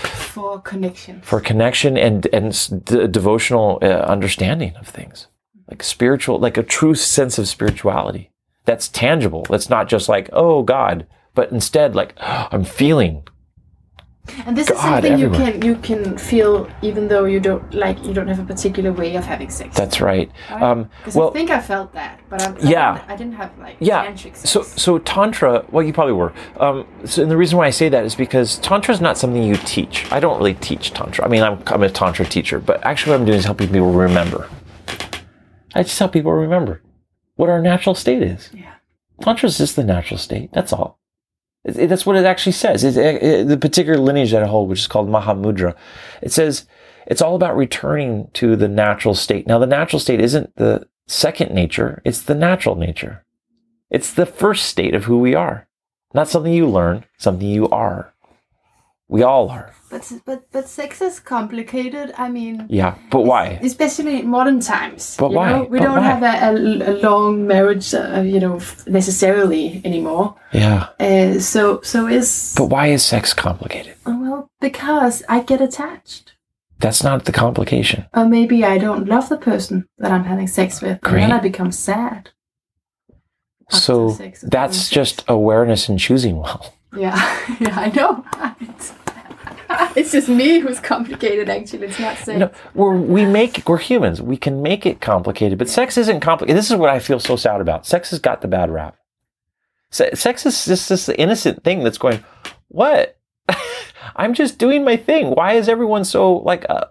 For connection. For connection and devotional understanding of things. like spiritual, like a true sense of spirituality that's tangible. That's not just like, oh God, but instead like, oh, I'm feeling. And this God, is something everywhere. you can feel even though you don't have a particular way of having sex. That's right. Because I think I felt that, but I didn't have like tantric sex. So Tantra, well, you probably were. And the reason why I say that is because Tantra is not something you teach. I don't really teach Tantra. I mean, I'm a Tantra teacher, but actually what I'm doing is helping people remember. I just help people remember what our natural state is. Yeah. Tantra is just the natural state. That's all. That's what it actually says. The particular lineage that I hold, which is called Mahamudra, it says it's all about returning to the natural state. Now, the natural state isn't the second nature. It's the natural nature. It's the first state of who we are. Not something you learn, something you are. We all are. But sex is complicated. I mean, yeah, but why? Especially in modern times. But why? We don't have a long marriage, necessarily anymore. Yeah. But why is sex complicated? Well, because I get attached. That's not the complication. Or maybe I don't love the person that I'm having sex with. Great. And then I become sad. So that's just awareness and choosing well. Yeah, I know. It's just me who's complicated, actually. It's not sex. No, we're humans. We can make it complicated, but sex isn't complicated. This is what I feel so sad about. Sex has got the bad rap. Sex is just this innocent thing that's going, what? I'm just doing my thing. Why is everyone so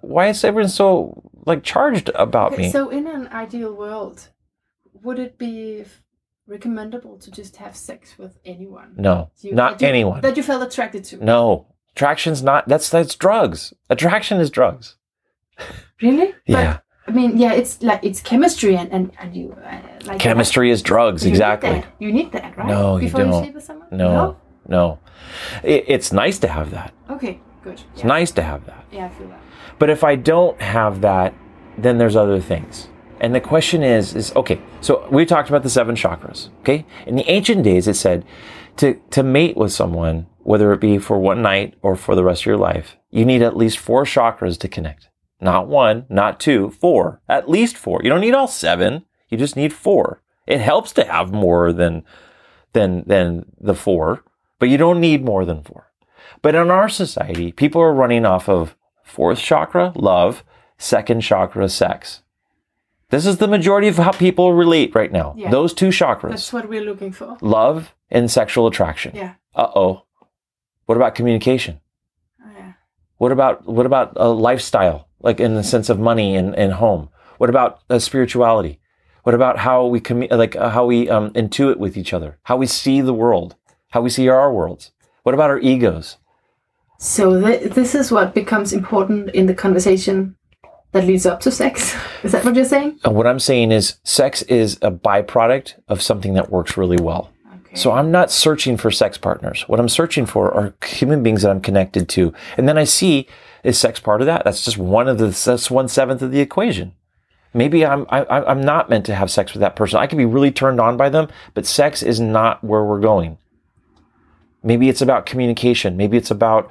charged about me? So in an ideal world, would it be recommendable to just have sex with anyone? No, not anyone. That you felt attracted to? No. Attraction's not, that's drugs. Attraction is drugs. Really? Yeah. But, I mean, yeah, it's chemistry and you like chemistry is drugs, exactly. You need that, right? No, Before you don't. You sleep with someone? No. It's nice to have that. Okay, good. It's nice to have that. Yeah, I feel that. But if I don't have that, then there's other things. And the question is okay, so we talked about the 7 chakras, okay? In the ancient days, it said to mate with someone, whether it be for one night or for the rest of your life, you need at least 4 chakras to connect. Not 1, not 2, 4. At least 4. You don't need all 7. You just need 4. It helps to have more than the 4, but you don't need more than 4. But in our society, people are running off of 4th chakra, love, 2nd chakra, sex. This is the majority of how people relate right now. Yeah. Those 2 chakras. That's what we're looking for. Love and sexual attraction. Yeah. Uh-oh. What about communication? Oh, yeah. What about a lifestyle, like in the sense of money and home? What about spirituality? What about how we intuit with each other? How we see the world? How we see our worlds? What about our egos? So this is what becomes important in the conversation that leads up to sex. Is that what you're saying? What I'm saying is sex is a byproduct of something that works really well. Okay. So I'm not searching for sex partners. What I'm searching for are human beings that I'm connected to. And then I see, is sex part of that? That's just that's 1/7 of the equation. Maybe I'm not meant to have sex with that person. I could be really turned on by them, but sex is not where we're going. Maybe it's about communication. Maybe it's about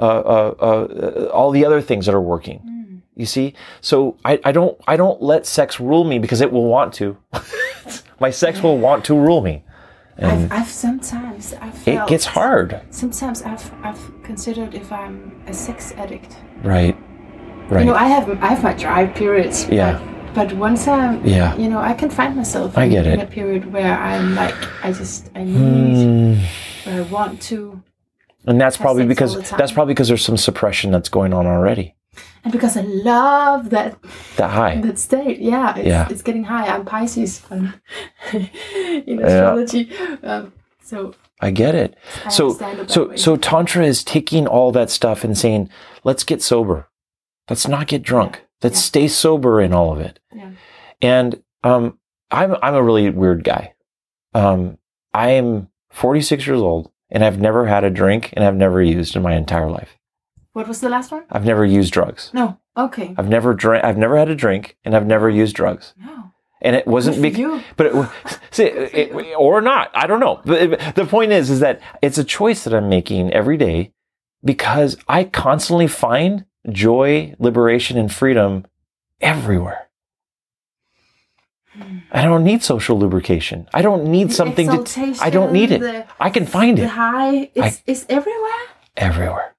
all the other things that are working. You see? So I don't let sex rule me because it will want to. My sex will want to rule me. And I've sometimes felt it gets hard. Sometimes I've considered if I'm a sex addict. Right. You know, I have my dry periods. Yeah. But once I can find myself in a period where I'm like, I need, where I want to. And that's probably because there's some suppression that's going on already. And because I love that high, that state, it's getting high. I'm Pisces in astrology, so I get it. So Tantra is taking all that stuff and saying, let's get sober, let's not get drunk, let's stay sober in all of it. Yeah. And I'm a really weird guy. I am 46 years old, and I've never had a drink, and I've never used in my entire life. What was the last one? I've never used drugs. No. Okay. I've never had a drink, and I've never used drugs. No. And it wasn't because, or not. I don't know. The point is that it's a choice that I'm making every day because I constantly find joy, liberation, and freedom everywhere. I don't need social lubrication. I don't need something to. I don't need it. I can find it. The high is everywhere. Everywhere.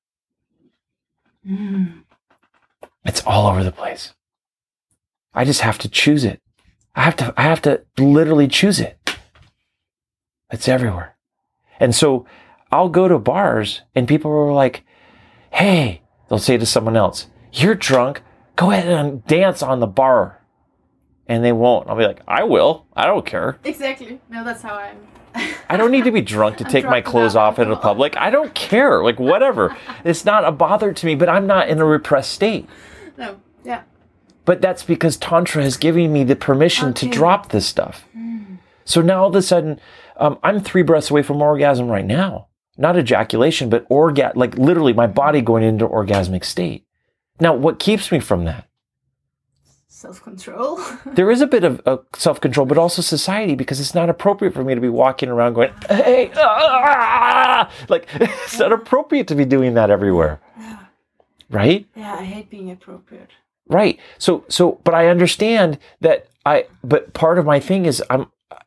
It's all over the place. I just have to choose it. I have to literally choose it. It's everywhere. And so I'll go to bars and people are like, hey, they'll say to someone else, you're drunk. Go ahead and dance on the bar. And they won't. I'll be like, I will. I don't care. Exactly. No, that's how I'm. I don't need to be drunk to take my clothes off in the public. I don't care. Like, whatever. It's not a bother to me, but I'm not in a repressed state. No. Yeah. But that's because Tantra has given me the permission to drop this stuff. So now all of a sudden, I'm 3 breaths away from orgasm right now. Not ejaculation, but like literally my body going into orgasmic state. Now, what keeps me from that? Self-control. There is a bit of self-control, but also society, because it's not appropriate for me to be walking around going, hey, like, it's not appropriate to be doing that everywhere. Yeah. Right? Yeah, I hate being appropriate. Right. So, but I understand that but part of my thing is I'm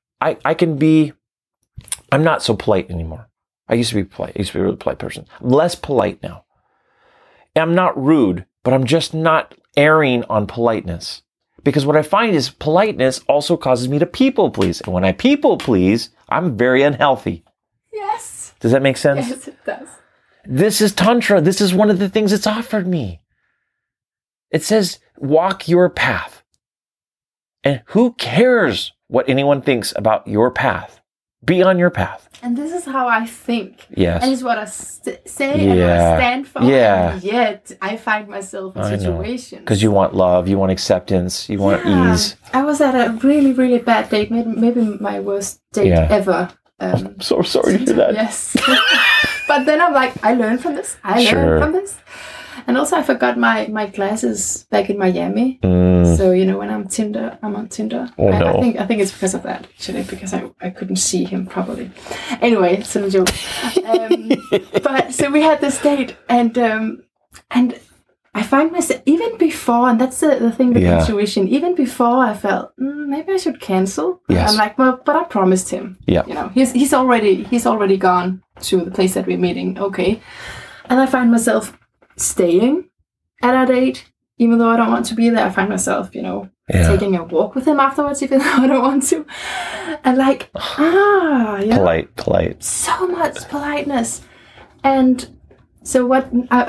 not so polite anymore. I used to be polite. I used to be a really polite person. I'm less polite now. I'm not rude, but I'm just not erring on politeness. Because what I find is politeness also causes me to people please. And when I people please, I'm very unhealthy. Yes. Does that make sense? Yes, it does. This is Tantra. This is one of the things it's offered me. It says, walk your path. And who cares what anyone thinks about your path? Be on your path. And this is how I think. Yes. And it's what I say and what I stand for. Yeah. And yet I find myself in situations. Because you want love, you want acceptance, you want ease. I was at a really, really bad date. Maybe my worst date ever. I'm so sorry to hear that. Yes. But then I'm like, I learned from this. I learned from this. And also I forgot my glasses back in Miami. So, when I'm on Tinder. Oh, no. I think it's because of that, actually, because I couldn't see him properly. Anyway, it's a joke. But so we had this date and I find myself, even before, and that's the thing with intuition, even before I felt, maybe I should cancel. Yes. I'm like, well, but I promised him. Yeah. He's already gone to the place that we're meeting. Okay. And I find myself staying at our date, even though I don't want to be there. I find myself, taking a walk with him afterwards, even though I don't want to. And like, polite. So much politeness. And so what I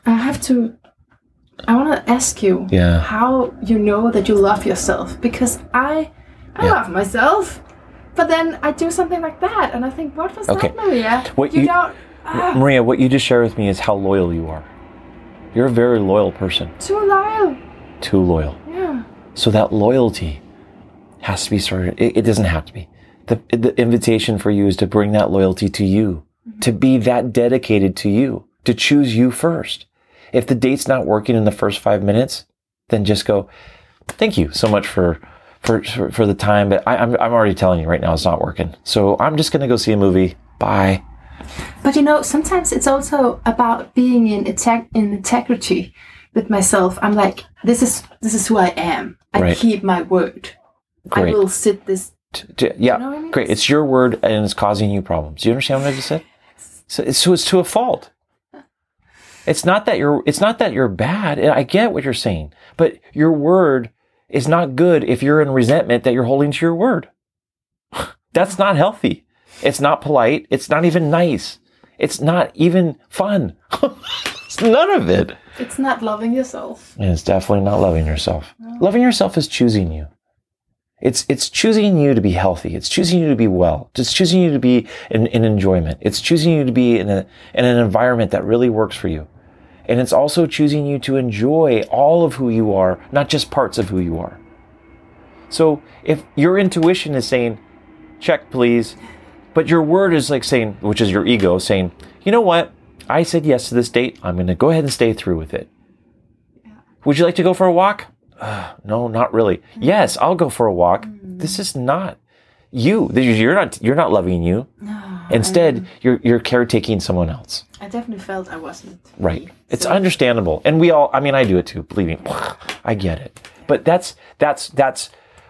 want to ask you how you know that you love yourself, because I love myself, but then I do something like that, and I think, what was that, Maria? Maria, what you just shared with me is how loyal you are. You're a very loyal person. Too loyal. Too loyal. Yeah. So that loyalty has to be started. It doesn't have to be. The invitation for you is to bring that loyalty to you, to be that dedicated to you, to choose you first. If the date's not working in the first 5 minutes, then just go, thank you so much for the time, but I'm already telling you right now it's not working. So I'm just going to go see a movie. Bye. But sometimes it's also about being in integrity with myself. I'm like, this is who I am. I keep my word. Great. I will sit this. Yeah, you know what I mean? Great. It's your word and it's causing you problems. Do you understand what I just said? So it's to a fault. It's not that you're bad. I get what you're saying, but your word is not good if you're in resentment that you're holding to your word. That's not healthy. It's not polite. It's not even nice. It's not even fun. It's none of it. It's not loving yourself. And it's definitely not loving yourself. No. Loving yourself is choosing you. It's choosing you to be healthy. It's choosing you to be well. It's choosing you to be in enjoyment. It's choosing you to be in an environment that really works for you. And it's also choosing you to enjoy all of who you are, not just parts of who you are. So if your intuition is saying, check please, but your word is like saying, which is your ego saying, you know what? I said yes to this date. I'm going to go ahead and stay through with it. Yeah. Would you like to go for a walk? No, not really. Mm-hmm. Yes, I'll go for a walk. Mm-hmm. This is not you. You're not loving you. No, instead, you're caretaking someone else. I definitely felt I wasn't. Right. It's understandable. And I do it too, believe me. I get it. Yeah. But that's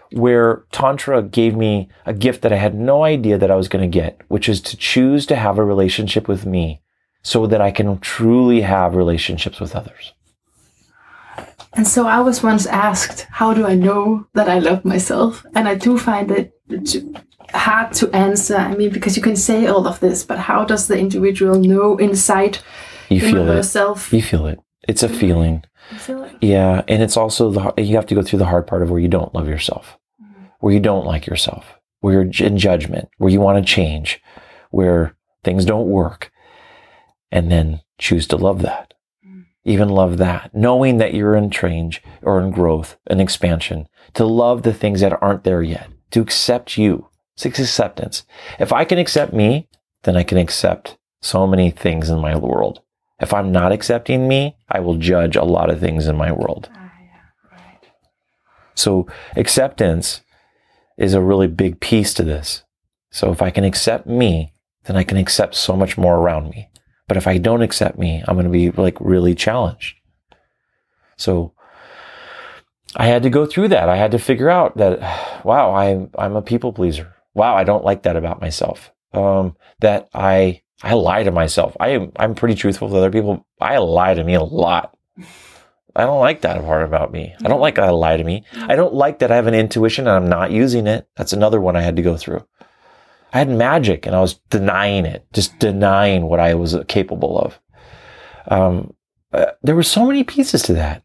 where Tantra gave me a gift that I had no idea that I was going to get, which is to choose to have a relationship with me so that I can truly have relationships with others. And so I was once asked, how do I know that I love myself? And I do find it hard to answer. I mean, because you can say all of this, but how does the individual know inside yourself? You feel it. It's a feeling. You feel it? Yeah. And it's also, you have to go through the hard part of where you don't love yourself, where you don't like yourself, where you're in judgment, where you want to change, where things don't work, and then choose to love that. Even love that, knowing that you're in change or in growth and expansion, to love the things that aren't there yet, to accept you. It's acceptance. If I can accept me, then I can accept so many things in my world. If I'm not accepting me, I will judge a lot of things in my world. Right. So acceptance is a really big piece to this. So if I can accept me, then I can accept so much more around me. But if I don't accept me, I'm going to be like really challenged. So I had to go through that. I had to figure out that, wow, I'm a people pleaser. Wow, I don't like that about myself. That I lie to myself. I'm pretty truthful with other people. I lie to me a lot. I don't like that part about me. I don't like that I lie to me. I don't like that I have an intuition and I'm not using it. That's another one I had to go through. I had magic and I was denying it, just denying what I was capable of. There were so many pieces to that.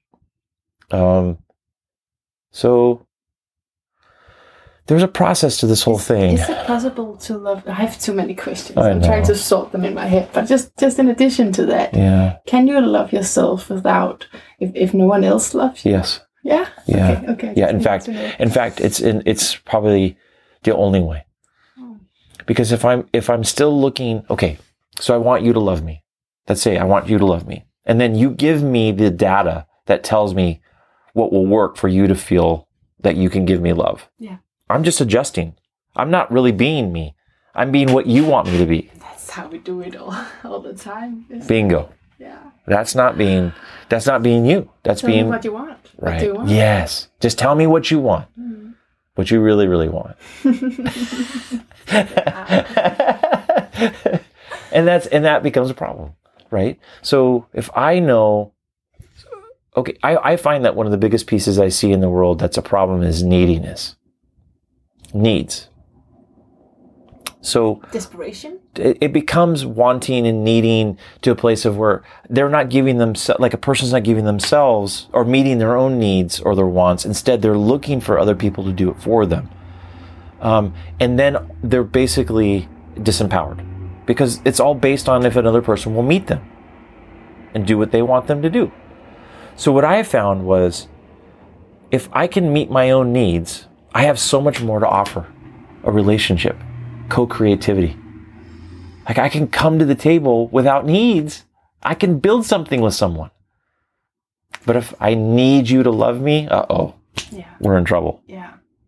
So there's a process to this whole thing. Is it possible to love? I have too many questions. I'm trying to sort them in my head. But just in addition to that, can you love yourself without, if no one else loves you? Yes. Yeah? Yeah. Okay. Yeah. In fact, it's probably the only way. Because if I'm still looking, okay, so I want you to love me. Let's say I want you to love me. And then you give me the data that tells me what will work for you to feel that you can give me love. Yeah. I'm just adjusting. I'm not really being me. I'm being what you want me to be. That's how we do it all the time. Bingo. Yeah. That's not being you. That's tell being me what you want. Right. What do you want? Yes. Just tell me what you want. What you really, really want. and that becomes a problem, right? So if I know, okay, I find that one of the biggest pieces I see in the world that's a problem is neediness. Needs. So desperation? It becomes wanting and needing to a place of where they're not giving themselves, like a person's not giving themselves or meeting their own needs or their wants. Instead, they're looking for other people to do it for them. And then they're basically disempowered because it's all based on if another person will meet them and do what they want them to do. So what I found was if I can meet my own needs, I have so much more to offer a relationship, co-creativity. Like I can come to the table without needs. I can build something with someone. But if I need you to love me, we're in trouble. Yeah.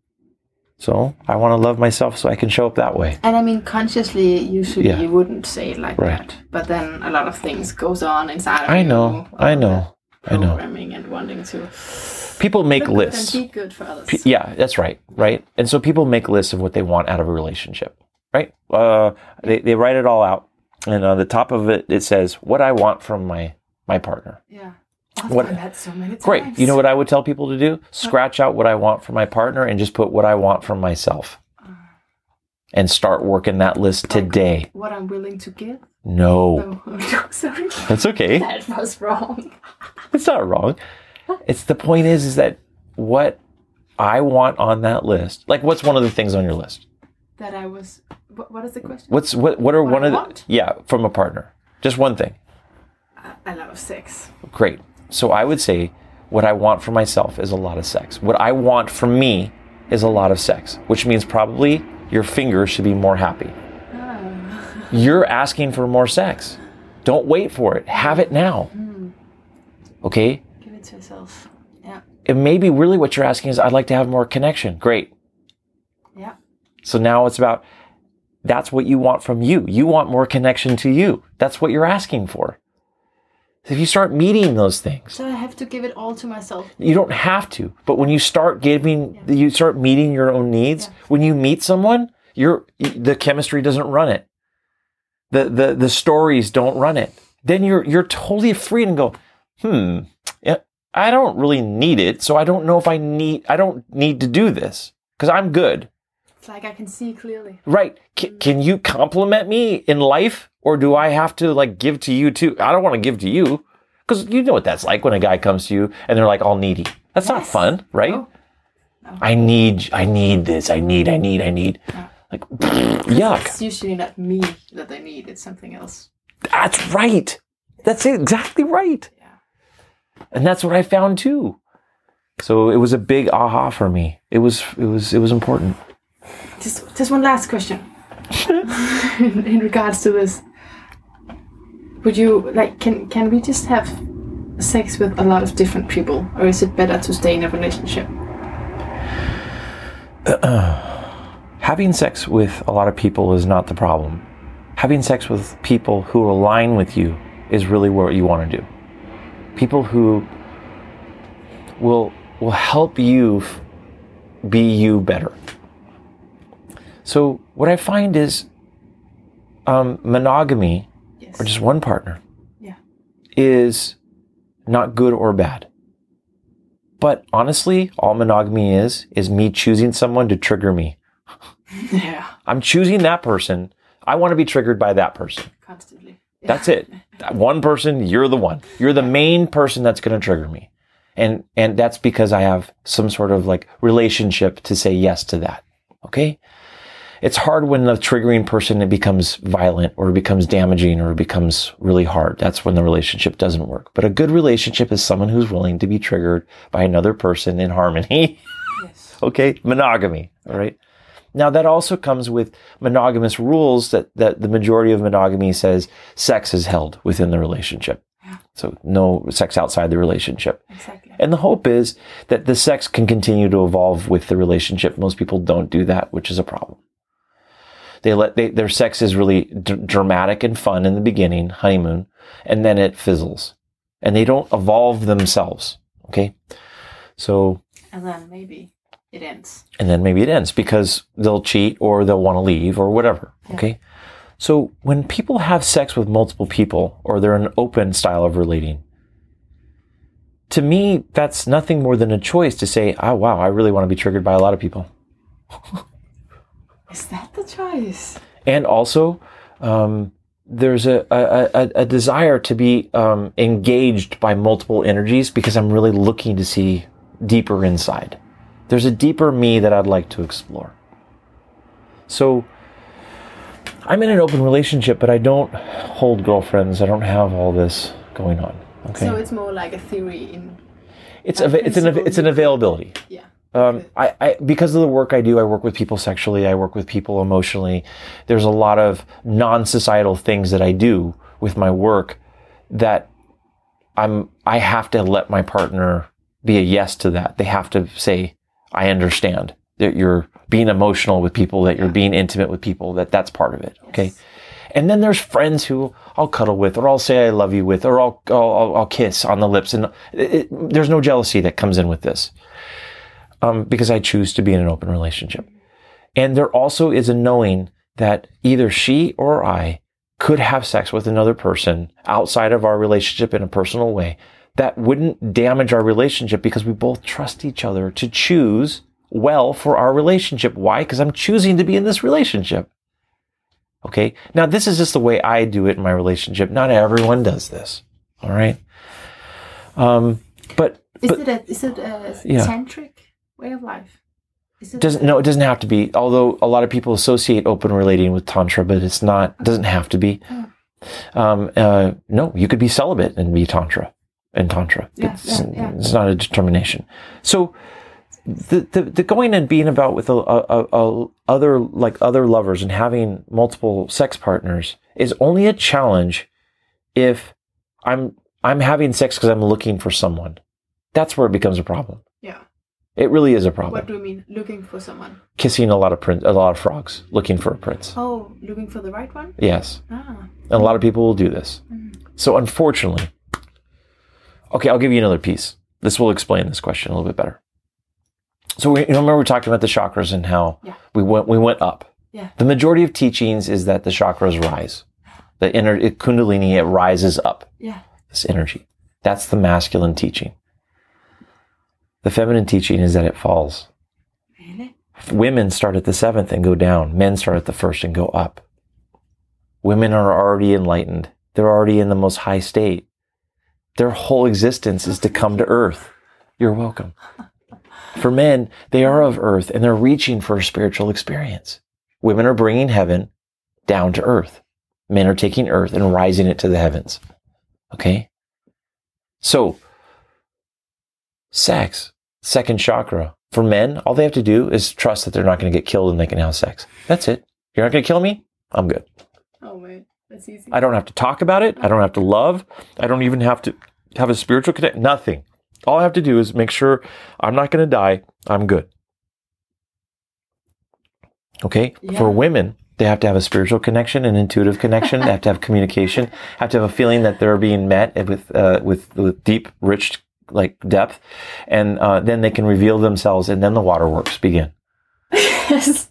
So I want to love myself so I can show up that way. And I mean, consciously, usually you wouldn't say it like that. But then a lot of things goes on inside of you. I know. Programming and wanting to. People make lists. And be good for others. Yeah, that's right. Right. And so people make lists of what they want out of a relationship. Right. They write it all out. And on the top of it, it says what I want from my partner. Yeah. I've done that so many times. Great. You know what I would tell people to do? Scratch out what I want from my partner and just put what I want from myself. And start working that list today. What I'm willing to give? No. Oh, sorry. That's okay. That was wrong. It's not wrong. It's the point is that what I want on that list, like what's one of the things on your list? That I was, what is the question? What are one of the, from a partner? Just one thing. I love sex. Great. So I would say what I want for myself is a lot of sex. What I want for me is a lot of sex, which means probably your fingers should be more happy. Oh. You're asking for more sex. Don't wait for it. Have it now. Okay? Give it to yourself. Yeah. And maybe really what you're asking is, I'd like to have more connection. Great. Yeah. So now it's about, that's what you want from you. You want more connection to you. That's what you're asking for. If you start meeting those things. So I have to give it all to myself. You don't have to. But when you start you start meeting your own needs, when you meet someone, the chemistry doesn't run it. The stories don't run it. Then you're totally free and go, yeah, I don't really need it. So I don't know if I don't need to do this because I'm good. It's like I can see clearly. Right. Can you compliment me in life? Or do I have to like give to you too? I don't want to give to you because you know what that's like when a guy comes to you and they're like all needy. That's not fun, right? No. I need this. I need. No. Like, yuck. It's usually not me that they need. It's something else. That's right. That's exactly right. Yeah. And that's what I found too. So it was a big aha for me. It was important. Just one last question. in regards to this. Would you can we just have sex with a lot of different people, or is it better to stay in a relationship? Having sex with a lot of people is not the problem. Having sex with people who align with you is really what you want to do. People who will help you be you better. So what I find is monogamy, or just one partner, is not good or bad. But honestly, all monogamy is me choosing someone to trigger me. Yeah. I'm choosing that person. I want to be triggered by that person. Constantly. Yeah. That's it. That one person, you're the one. You're the main person that's going to trigger me. And that's because I have some sort of like relationship to say yes to that. Okay? It's hard when the triggering person, it becomes violent or it becomes damaging or it becomes really hard. That's when the relationship doesn't work. But a good relationship is someone who's willing to be triggered by another person in harmony. Yes. Okay? Monogamy. All right? Now that also comes with monogamous rules that the majority of monogamy says sex is held within the relationship. Yeah. So no sex outside the relationship. Exactly. And the hope is that the sex can continue to evolve with the relationship. Most people don't do that, which is a problem. Their sex is really dramatic and fun in the beginning, honeymoon, and then it fizzles. And they don't evolve themselves, okay? So... And then maybe it ends. Because they'll cheat or they'll want to leave or whatever, okay? So when people have sex with multiple people or they're an open style of relating, to me, that's nothing more than a choice to say, oh, wow, I really want to be triggered by a lot of people. Is that the choice? And also, there's a desire to be engaged by multiple energies because I'm really looking to see deeper inside. There's a deeper me that I'd like to explore. So I'm in an open relationship, but I don't hold girlfriends. I don't have all this going on. Okay. So it's more like a theory it's an availability. Yeah. I because of the work I do, I work with people sexually, I work with people emotionally. There's a lot of non-societal things that I do with my work that I have to let my partner be a yes to that. They have to say, I understand that you're being emotional with people, that you're being intimate with people, that's part of it. Okay. Yes. And then there's friends who I'll cuddle with, or I'll say I love you with, or I'll kiss on the lips. And there's no jealousy that comes in with this. Because I choose to be in an open relationship. And there also is a knowing that either she or I could have sex with another person outside of our relationship in a personal way that wouldn't damage our relationship because we both trust each other to choose well for our relationship. Why? Because I'm choosing to be in this relationship. Okay? Now, this is just the way I do it in my relationship. Not everyone does this. All right? Is it a tantric way of life? It doesn't have to be. Although a lot of people associate open relating with tantra, but it's not. It doesn't have to be. No, you could be celibate and be tantra. It's not a determination. So the going and being about with other lovers and having multiple sex partners is only a challenge if I'm having sex because I'm looking for someone. That's where it becomes a problem. Yeah. It really is a problem. What do you mean, looking for someone? Kissing a lot of frogs, looking for a prince. Oh, looking for the right one? Yes. And a lot of people will do this. Mm. So unfortunately, Okay, I'll give you another piece. This will explain this question a little bit better. So remember we talked about the chakras and how we went up. Yeah. The majority of teachings is that the chakras rise. The Kundalini, it rises up. Yeah. This energy. That's the masculine teaching. The feminine teaching is that it falls. Really? Women start at the 7th and go down. Men start at the 1st and go up. Women are already enlightened. They're already in the most high state. Their whole existence is to come to earth. You're welcome. For men, they are of earth and they're reaching for a spiritual experience. Women are bringing heaven down to earth. Men are taking earth and rising it to the heavens. Okay? So, sex, second chakra. For men, all they have to do is trust that they're not going to get killed and they can have sex. That's it. You're not going to kill me? I'm good. Oh, wait. That's easy. I don't have to talk about it. I don't have to love. I don't even have to have a spiritual connection. Nothing. All I have to do is make sure I'm not going to die. I'm good. Okay? Yeah. For women, they have to have a spiritual connection, an intuitive connection. They have to have communication. Have to have a feeling that they're being met with deep, rich, like depth, and then they can reveal themselves, and then the waterworks begin. Yes.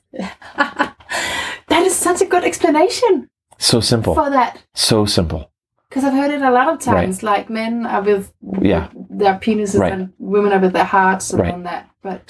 That is such a good explanation. So simple. For that. So simple. Because I've heard it a lot of times, like men are with their penises and women are with their hearts and all that. But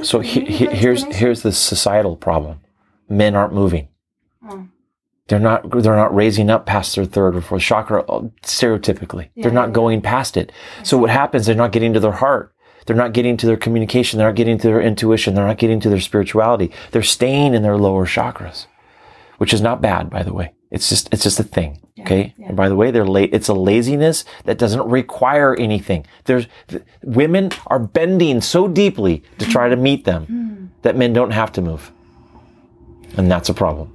here's the societal problem. Men aren't moving. Oh. They're not raising up past their 3rd or 4th chakra stereotypically. They're not going past it. So what happens? They're not getting to their heart. They're not getting to their communication. They're not getting to their intuition. They're not getting to their spirituality. They're staying in their lower chakras, which is not bad, by the way. It's just a thing. Okay. Yeah. And by the way, it's a laziness that doesn't require anything. Women are bending so deeply to try to meet them that men don't have to move. And that's a problem.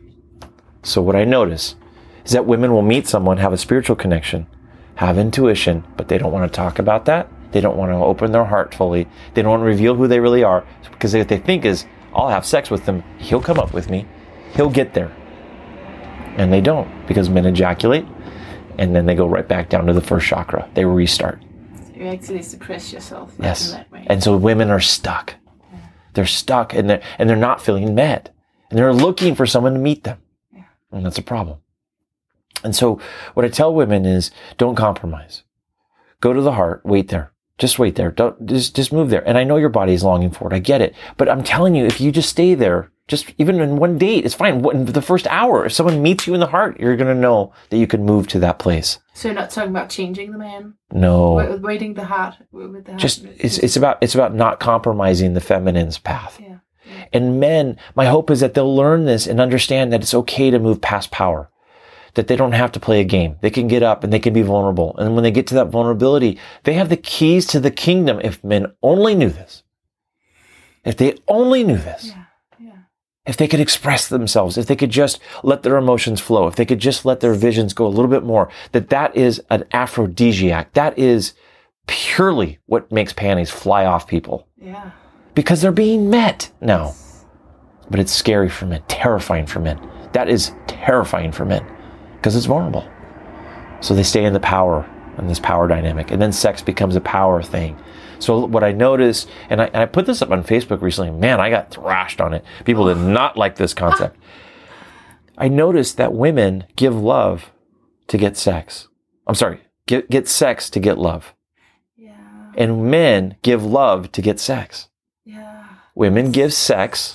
So what I notice is that women will meet someone, have a spiritual connection, have intuition, but they don't want to talk about that. They don't want to open their heart fully. They don't want to reveal who they really are, because what they think is, I'll have sex with him. He'll come up with me. He'll get there. And they don't, because men ejaculate and then they go right back down to the 1st chakra. They restart. So you actually suppress yourself in that way. And so women are stuck. Yeah. They're stuck and they're not feeling met. And they're looking for someone to meet them. Yeah. And that's a problem. And so what I tell women is, don't compromise. Go to the heart, wait there. Just wait there. Don't just move there. And I know your body is longing for it. I get it. But I'm telling you, if you just stay there, just even in one date, it's fine. In the first hour, if someone meets you in the heart, you're going to know that you can move to that place. So you're not talking about changing the man? No. Waiting the heart with the heart. Just it's about not compromising the feminine's path. Yeah. Yeah. And men, my hope is that they'll learn this and understand that it's okay to move past power. That they don't have to play a game. They can get up and they can be vulnerable. And when they get to that vulnerability, they have the keys to the kingdom. If men only knew this. If they only knew this. Yeah. If they could express themselves, if they could just let their emotions flow, if they could just let their visions go a little bit more, that is an aphrodisiac. That is purely what makes panties fly off people. Yeah. Because they're being met now. But it's scary for men, terrifying for men. That is terrifying for men because it's vulnerable. So they stay in the power and this power dynamic. And then sex becomes a power thing. So what I noticed, and I put this up on Facebook recently, man, I got thrashed on it. People did not like this concept. I noticed that women give love to get sex. I'm sorry, get sex to get love. Yeah. And men give love to get sex. Yeah. Women give sex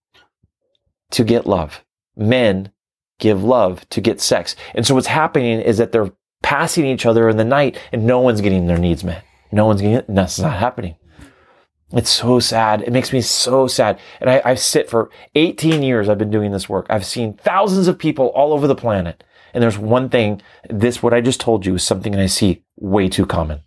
to get love. Men give love to get sex. And so what's happening is that they're passing each other in the night and no one's getting their needs met. No one's getting it. And that's not happening. It's so sad. It makes me so sad. And I sit for 18 years. I've been doing this work. I've seen thousands of people all over the planet. And there's one thing, what I just told you is something that I see way too common.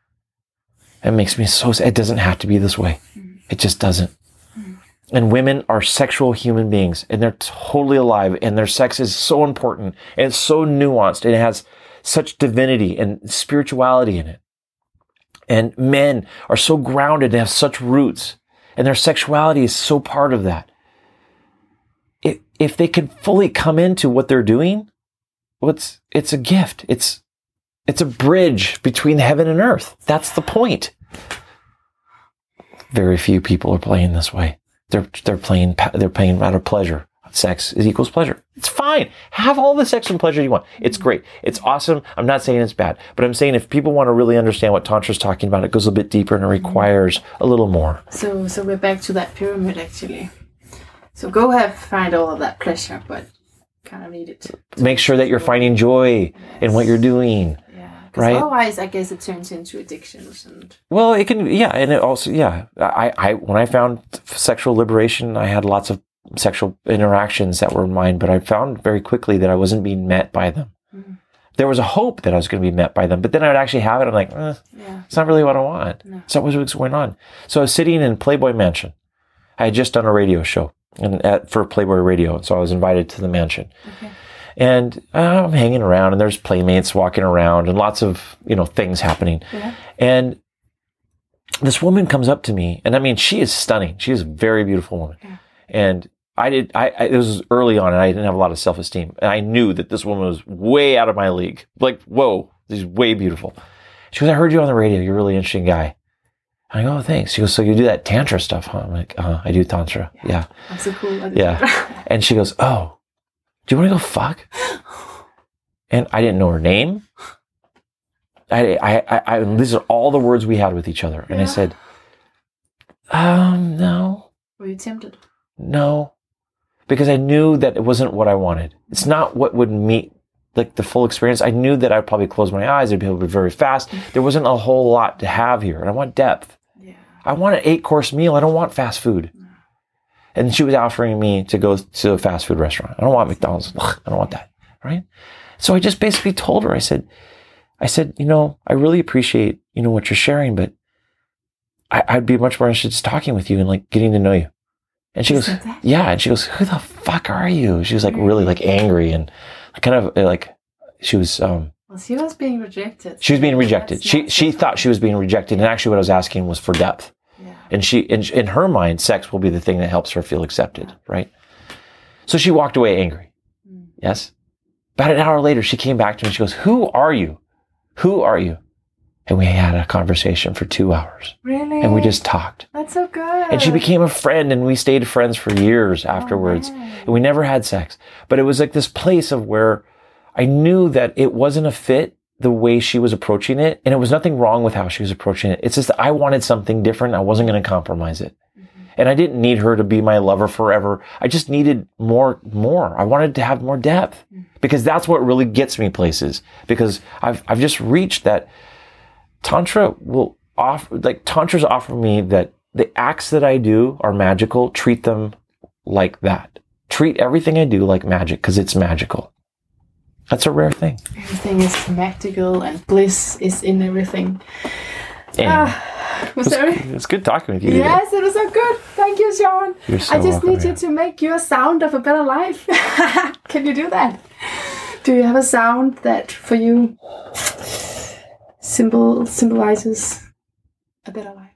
It makes me so sad. It doesn't have to be this way. It just doesn't. And women are sexual human beings and they're totally alive and their sex is so important and it's so nuanced and it has such divinity and spirituality in it. And men are so grounded and have such roots and their sexuality is so part of that. If they can fully come into what they're doing, it's a gift. It's It's a bridge between heaven and earth. That's the point. Very few people are playing this way. They're playing out of pleasure. Sex is equals pleasure. It's fine. Have all the sex and pleasure you want. It's great. It's awesome. I'm not saying it's bad, but I'm saying if people want to really understand what Tantra is talking about, it goes a bit deeper and it requires a little more. So we're back to that pyramid actually. So find all of that pleasure, but kind of need it. Make sure that you're finding joy in what you're doing. Right. Otherwise, I guess it turns into addictions and. Well, it can, and it also, I when I found sexual liberation, I had lots of sexual interactions that were mine, but I found very quickly that I wasn't being met by them. Mm-hmm. There was a hope that I was going to be met by them, but then I would actually have it. I'm like, it's not really what I want. No. It's not what's going on. So I was sitting in Playboy Mansion. I had just done a radio show for Playboy Radio, so I was invited to the mansion. Okay. And I'm hanging around, and there's playmates walking around, and lots of things happening. Yeah. And this woman comes up to me, and I mean, she is stunning. She is a very beautiful woman. Yeah. And it was early on, and I didn't have a lot of self-esteem. And I knew that this woman was way out of my league. Like, whoa, she's way beautiful. She goes, I heard you on the radio. You're a really interesting guy. I go, oh, thanks. She goes, so you do that Tantra stuff, huh? I'm like, I do Tantra. Yeah. That's so cool. Yeah. And she goes, oh. Do you want to go fuck? And I didn't know her name. These are all the words we had with each other. And I said, no. Were you tempted? No. Because I knew that it wasn't what I wanted. It's not what would meet like the full experience. I knew that I'd probably close my eyes. I'd be able to be very fast. There wasn't a whole lot to have here. And I want depth. Yeah. I want an 8-course meal. I don't want fast food. No. And she was offering me to go to a fast food restaurant. I don't want McDonald's. I don't want that. Right? So I just basically told her, I said, I really appreciate, what you're sharing, but I'd be much more interested in just talking with you and like getting to know you. And she goes, yeah. And she goes, who the fuck are you? She was like really like angry and kind of like she was, well, she was being rejected. She was being rejected. She thought she was being rejected. And actually what I was asking was for depth. And in her mind, sex will be the thing that helps her feel accepted, right? So she walked away angry. Yes. About an hour later, she came back to me. She goes, who are you? Who are you? And we had a conversation for 2 hours. Really? And we just talked. That's so good. And she became a friend, and we stayed friends for years afterwards. And we never had sex. But it was like this place of where I knew that it wasn't a fit the way she was approaching it. And it was nothing wrong with how she was approaching it. It's just that I wanted something different. I wasn't going to compromise it. Mm-hmm. And I didn't need her to be my lover forever. I just needed more. I wanted to have more depth because that's what really gets me places. Because I've just reached that Tantra Tantra's offer me that the acts that I do are magical. Treat them like that. Treat everything I do like magic because it's magical. That's a rare thing. Everything is magical and bliss is in everything. It's good talking with you. Yes, it was so good. Thank you, Sean. You're so I just welcome, need you to make your sound of a better life. Can you do that? Do you have a sound that for you symbolizes a better life?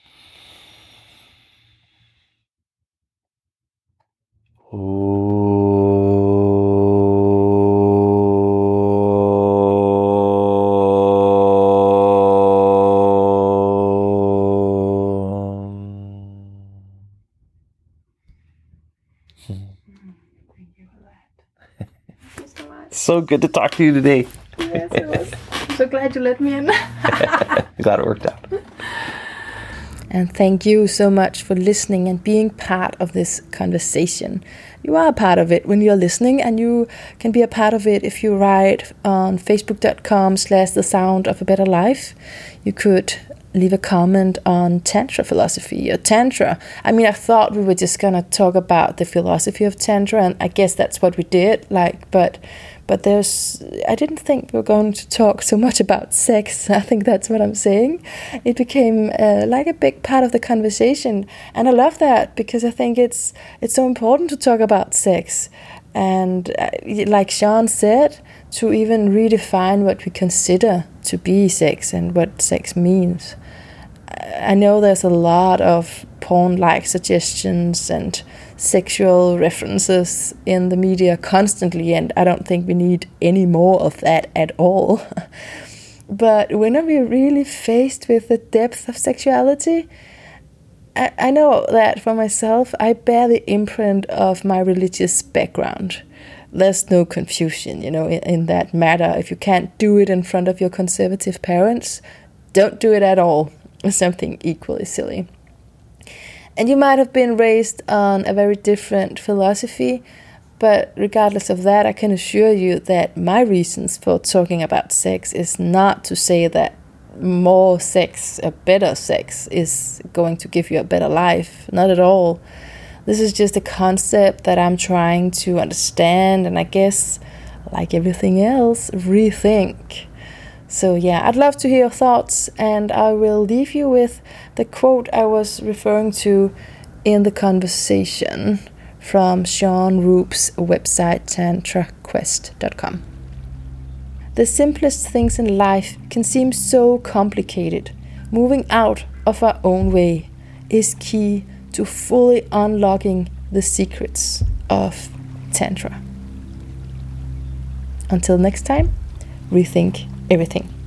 So good to talk to you today. Yes, it was. I'm so glad you let me in. Glad it worked out. And thank you so much for listening and being part of this conversation. You are a part of it when you're listening, and you can be a part of it if you write on facebook.com/the sound of a better life. You could leave a comment on Tantra philosophy or Tantra. I mean, I thought we were just going to talk about the philosophy of Tantra, and I guess that's what we did, but I didn't think we were going to talk so much about sex. I think that's what I'm saying. It became like a big part of the conversation, and I love that because I think it's so important to talk about sex. And like Sean said, to even redefine what we consider to be sex and what sex means. I know there's a lot of porn-like suggestions and sexual references in the media constantly, and I don't think we need any more of that at all. But when are we really faced with the depth of sexuality? I know that for myself, I bear the imprint of my religious background. There's no confusion, in that matter. If you can't do it in front of your conservative parents, don't do it at all. It's something equally silly. And you might have been raised on a very different philosophy, but regardless of that, I can assure you that my reasons for talking about sex is not to say that more sex, a better sex, is going to give you a better life. Not at all. This is just a concept that I'm trying to understand and I guess, like everything else, rethink. So yeah, I'd love to hear your thoughts, and I will leave you with the quote I was referring to in the conversation from Sean Roop's website, tantraquest.com. The simplest things in life can seem so complicated. Moving out of our own way is key to fully unlocking the secrets of Tantra. Until next time, rethink everything.